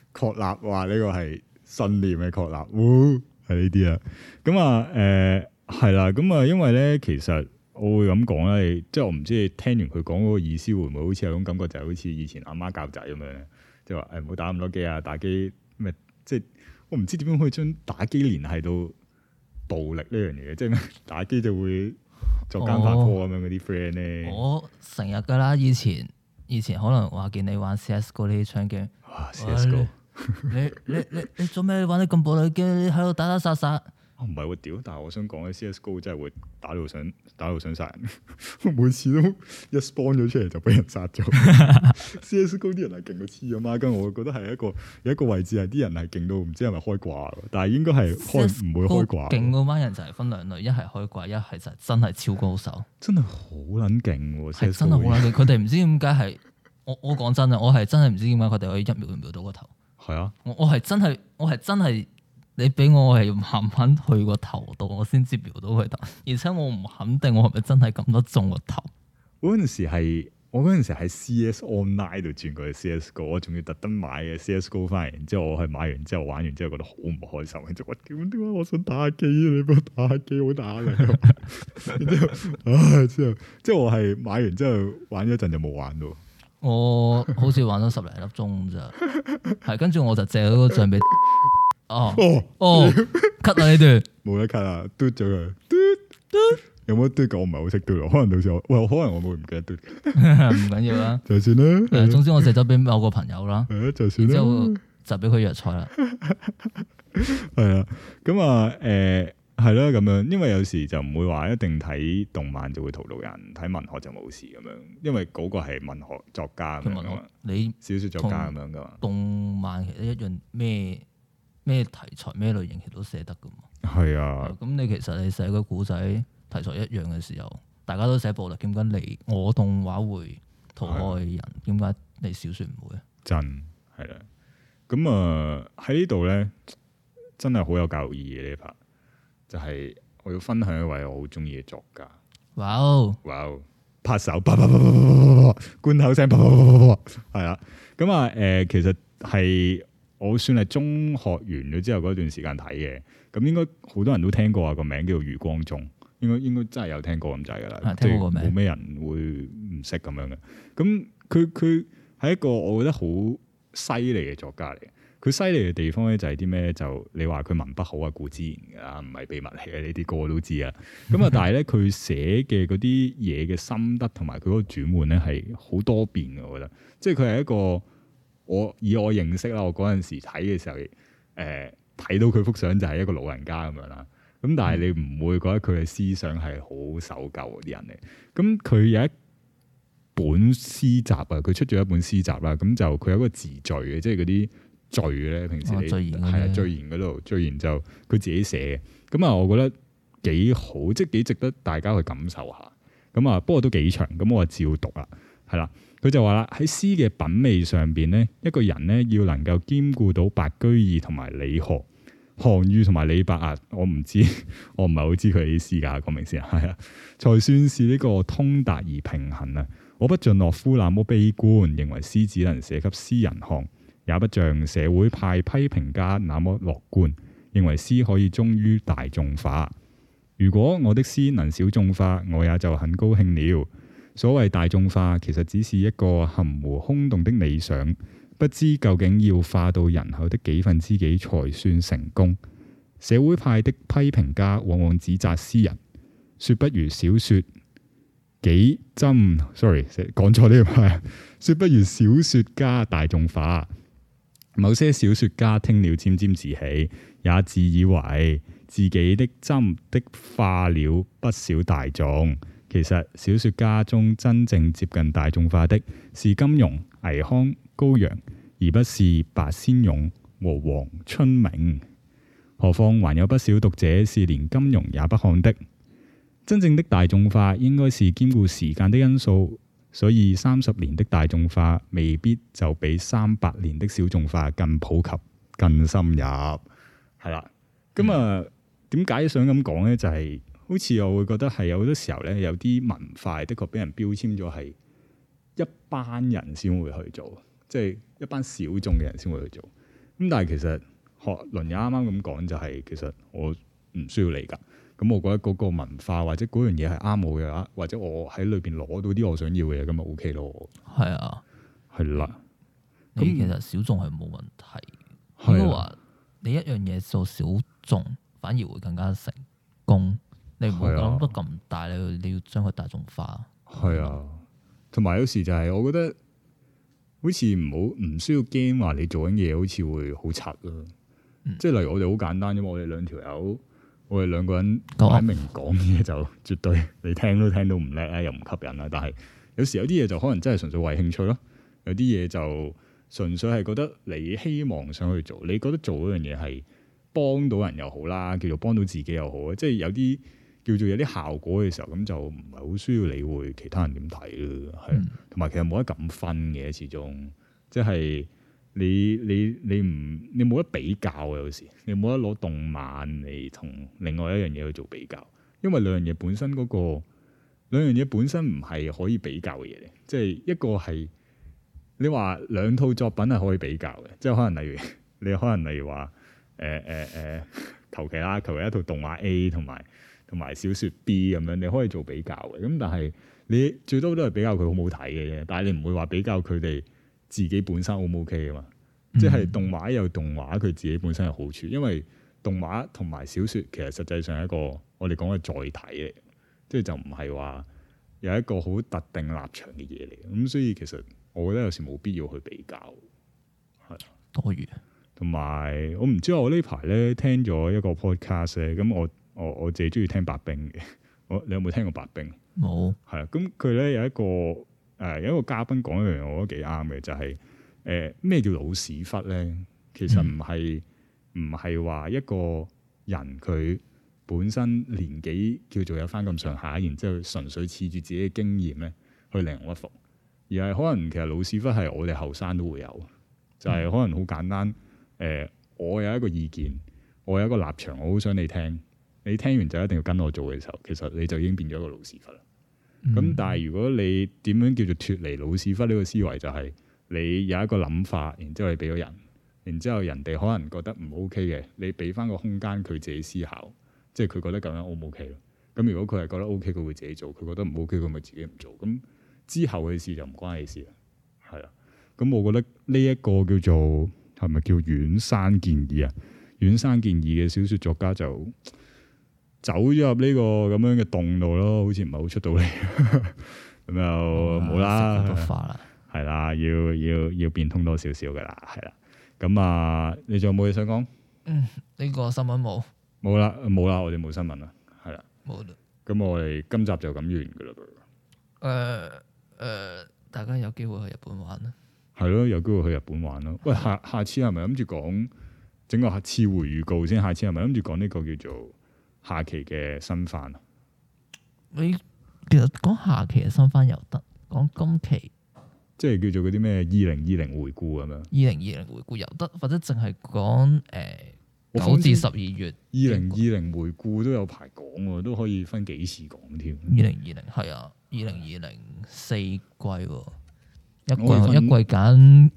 確立話呢個係信念嘅確立，係呢啲啊。咁啊係啦，咁啊因為咧其實我會咁講咧，即係我唔知你聽完佢講嗰個意思會唔會好似有種感覺，就係好似以前阿媽教仔咁樣咧，即係話唔好打咁多機啊，打機咩？即係我唔知點樣可以將打機聯繫到暴力呢樣嘢，即係咩打機就會作奸犯科咁樣嗰啲 friend 咧。我成日噶啦，以前可能話見你玩 CSGO 呢啲槍 game， CSGO， 你做咩玩得咁暴力嘅？你喺度打打殺殺。 唔係喎，屌！但係我想講咧，CSGO 真係會打到想殺人，每次都一 spawn 咗出嚟就俾人殺咗。CSGO 啲人係勁到黐咗孖筋，我覺得係有一個位置係啲人係勁到唔知係咪開掛，但係應該係唔會開掛。勁嗰班人就係分兩類，一係開掛，一係就真係超高手。 真係好撚勁喎！ 係真係好撚勁，佢哋唔知點解係我講真啊，我係真係唔知點解佢哋可以一秒秒到個頭。 係啊， 我係真係。你俾我係慢慢去個頭度，我先至瞄到佢頭，而且我唔肯定我係咪真係撳得中個頭。 我嗰陣時喺 CS Online 度轉過去 CSGO， 我仲要特登買嘅 CSGO 翻嚟，然之後我係買完之後玩完之後覺得好唔開心，然之後點解我想打機啊？你幫我打機好打力，然之後即係我係買完之後玩咗一陣就冇玩到。 我好似玩咗10零粒鐘咋，係跟住我就借咗個賬俾。cut 啊呢段冇得 cut 啊，嘟咗佢，嘟有冇嘟㗎？我唔係好識嘟，可能到時候可能我會唔記得嘟， 唔緊要啦， 就算啦。 總之我借咗俾某個朋友啦， 就算啦， 之後就俾佢藥材啦。 係啊，咁啊，係咯，咁樣，因為有時就唔會話一定睇動漫就會荼毒人，睇文學就冇事咁樣，因為嗰個係文學作家咁樣嘛，你小說作家咁樣噶嘛。 動漫其實一樣咩題材咩類型其實都寫得噶嘛。 係啊，咁你其實你寫個古仔題材一樣嘅時候，大家都寫暴力，點解我動畫會討愛人？點解你小說唔會啊？ 真係啦，咁啊喺呢度咧，真係好有教育意義呢一 part，就係我要分享一位我好中意嘅作家。 哇哦， 拍手，罐頭聲，係啦，咁啊其實係。我算係中學完咗之後嗰段時間睇嘅，咁應該好多人都聽過啊，個名叫做余光中，應該真係有聽過咁滯噶啦，即係冇咩人會唔識咁樣嘅。咁佢係一個我覺得好犀利嘅作家嚟嘅。佢犀利嘅地方咧就係啲咩？就你話佢文筆好啊，固之然噶啦，唔係秘密嚟嘅，呢啲個個都知啊。咁啊，但係咧佢寫嘅嗰啲嘢嘅心得同埋佢嗰個轉換咧係好多變嘅，我覺得，即係佢係一個。以我認識啦，我嗰陣時睇嘅時候，睇到佢幅相就係一個老人家咁樣啦。咁但係你唔會覺得佢嘅思想係好守舊嗰啲人嚟。咁佢有一本詩集啊，佢出咗一本詩集啦。咁就佢有一個自序嘅，即係嗰啲序咧，平時你係啊序言嗰度序言就佢自己寫嘅。咁啊，我覺得幾好，即係幾值得大家去感受下。咁啊，不過都幾長，咁我就照讀啦，係啦。佢就話啦，喺詩嘅品味上邊咧，一個人咧要能夠兼顧到白居易同埋李賀、韓愈同埋李白啊，我唔係好知佢啲詩㗎，講明先係啊，才算是呢個通達而平衡啊！我不像洛夫那麼悲觀，認為詩只能寫給詩人看，也不像社會派批評家那麼樂觀，認為詩可以忠於大眾化。如果我的詩能小眾化，我也就很高興了。所謂大眾化，其實只是一個含糊空洞的理想，不知究竟要化到人口的幾分之幾才算成功。社會派的批評家往往指責詩人，說不如小說幾針，sorry， 講錯呢個係，說不如小說家大眾化。某些小說家聽了沾沾自喜，也自以為自己的針的化了不少大眾。其實小說家中真正接近大眾化的是金庸、倪匡、高陽，而不是白先勇和黃春明。何況還有不少讀者是連金庸也不看的。真正的大眾化應該是兼顧時間的因素，所以30年的大眾化未必就比300年的小眾化更普及、更深入。係啦，咁啊，點解想咁講呢？就係好似我會覺得係有好多時候咧，有啲文化的確俾人標籤咗係一班人先會去做，即係一班小眾嘅人先會去做。 咁但係其實學倫也啱啱咁講就係，其實我唔需要你㗎。咁我覺得嗰個文化或者嗰樣嘢係啱我嘅，或者我喺裏邊攞到啲我想要嘅嘢，咁咪 OK 咯。係啊， 係啦。 咁其實小眾係冇問題，應該話你一樣嘢做小眾反而會更加成功。你唔會諗得咁大，你要將佢大眾化。 係啊，同埋有時就係我覺得好似唔需要驚話你做緊嘢好似會好柒咯。即係例如我哋好簡單啫嘛，我哋兩條友。我哋兩個人擺明講嘢就絕對你聽都聽到唔叻啊，又唔吸引啦。但係有時有啲嘢就可能真係純粹為興趣咯，有啲嘢就純粹係覺得你希望想去做，你覺得做嗰樣嘢係幫到人又好啦，叫做幫到自己又好，即係有啲叫做有啲效果嘅時候，咁就唔係好需要理會其他人點睇咯。係，同埋其實冇得咁分嘅，始終即係。你冇得比較啊！有時你冇得攞動漫嚟同另外一樣嘢去做比較，因為兩樣嘢本身唔係可以比較嘅嘢嚟。即係一個係你話兩套作品係可以比較嘅，即係可能例如話求其啦，求其一套動畫 A 同埋小說 B 咁樣，你可以做比較嘅。咁但係你最多都係比較佢好唔好睇嘅啫，但係你唔會話比較佢哋自己本身 O 唔 OK 嘅嘛？即係動畫有動畫佢自己本身有好處，因為動畫同埋小說其實實際上係一個我哋講嘅載體嚟，即係就唔係話有一個好特定立場嘅嘢嚟。咁所以其實我覺得有時冇必要去比較，係多餘。 同埋我唔知我呢排咧聽咗一個 podcast 咧，咁我自己中意聽白冰嘅。你有冇聽過白冰？ 冇。係啊，咁佢咧有一個嘉賓講一樣嘢，我覺得幾啱嘅，就係咩叫老屎忽咧？其實唔係話一個人佢本身年紀叫做有翻咁上下，然之後純粹恃住自己嘅經驗咧去令人屈服，而係可能其實老屎忽係我哋後生都會有，就係可能好簡單。我有一個意見，我有一個立場，我好想你聽，你聽完就一定要跟我做嘅時候，其實你就已經變咗一個老屎忽啦。咁但係如果你點樣叫做脫離老屎忽呢個思維，就係你有一個諗法，然之後你俾咗人，然之後人哋可能覺得唔 OK 嘅，你俾翻個空間佢自己思考，即係佢覺得咁樣 O 唔 OK 咯。咁如果佢係覺得 OK，佢會自己做；佢覺得唔 OK，佢咪自己唔做。咁之後嘅事就唔關你事啦。係啦，咁我覺得呢一個叫做係咪叫遠山健二啊？遠山健二嘅小說作家就走咗入呢個咁樣嘅洞度咯，好似唔係好出到嚟，咁又冇啦，係啦，要變通多少少噶啦，係啦。咁啊，你仲有冇嘢想講？ 呢個新聞冇啦，我哋冇新聞啦，係啦， 冇啦。 咁我哋今集就咁完噶啦。 大家有機會去日本玩啦。 係咯，有機會去日本玩咯。喂，下次係咪諗住講整個次回預告先？下次係咪諗住講呢個叫做下期嘅新番啊？ 你其實講下期嘅新番又得，講今期即係叫做嗰啲咩2020回顧咁樣。 2020回顧又得，或者淨係講9至12月。 2020回顧都有排講喎，都可以分幾次講添。 2020係啊，2020 4季喎，一季揀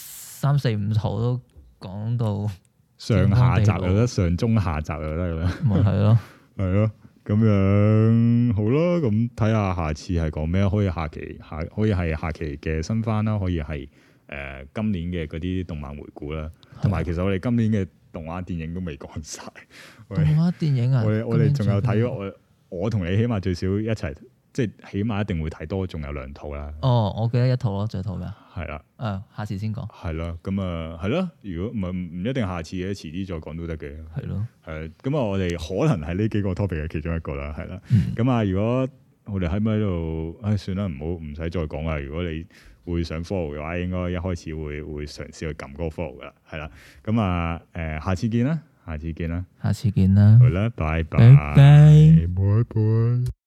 3、4、5套都講到上下集又得，上中下集又得咁樣。 咪係咯， 係咯，咁樣好咯。咁睇下下次係講咩？可以係下期嘅新番啦，可以係今年嘅嗰啲動漫回顧啦。同埋其實我哋今年嘅動畫電影都未講晒。 動畫電影啊， 我哋仲有睇咗我同你起碼最少一齊，即係起碼一定會睇多，仲有2套啦。 哦，我記得1套咯，最套咩？ 係啦。 下次先講。係咯，咁啊，係咯。如果唔一定下次嘅，遲啲再講都得嘅。 係咯。係。 咁啊，我哋可能係呢幾個 topic 嘅其中一個啦，係啦。咁啊，如果我哋喺咪喺度，算啦，唔使再講啦。如果你會想 follow 嘅話，應該一開始會嘗試去撳嗰個 follow 噶啦，係啦。咁啊，下次見啦。好啦，拜拜。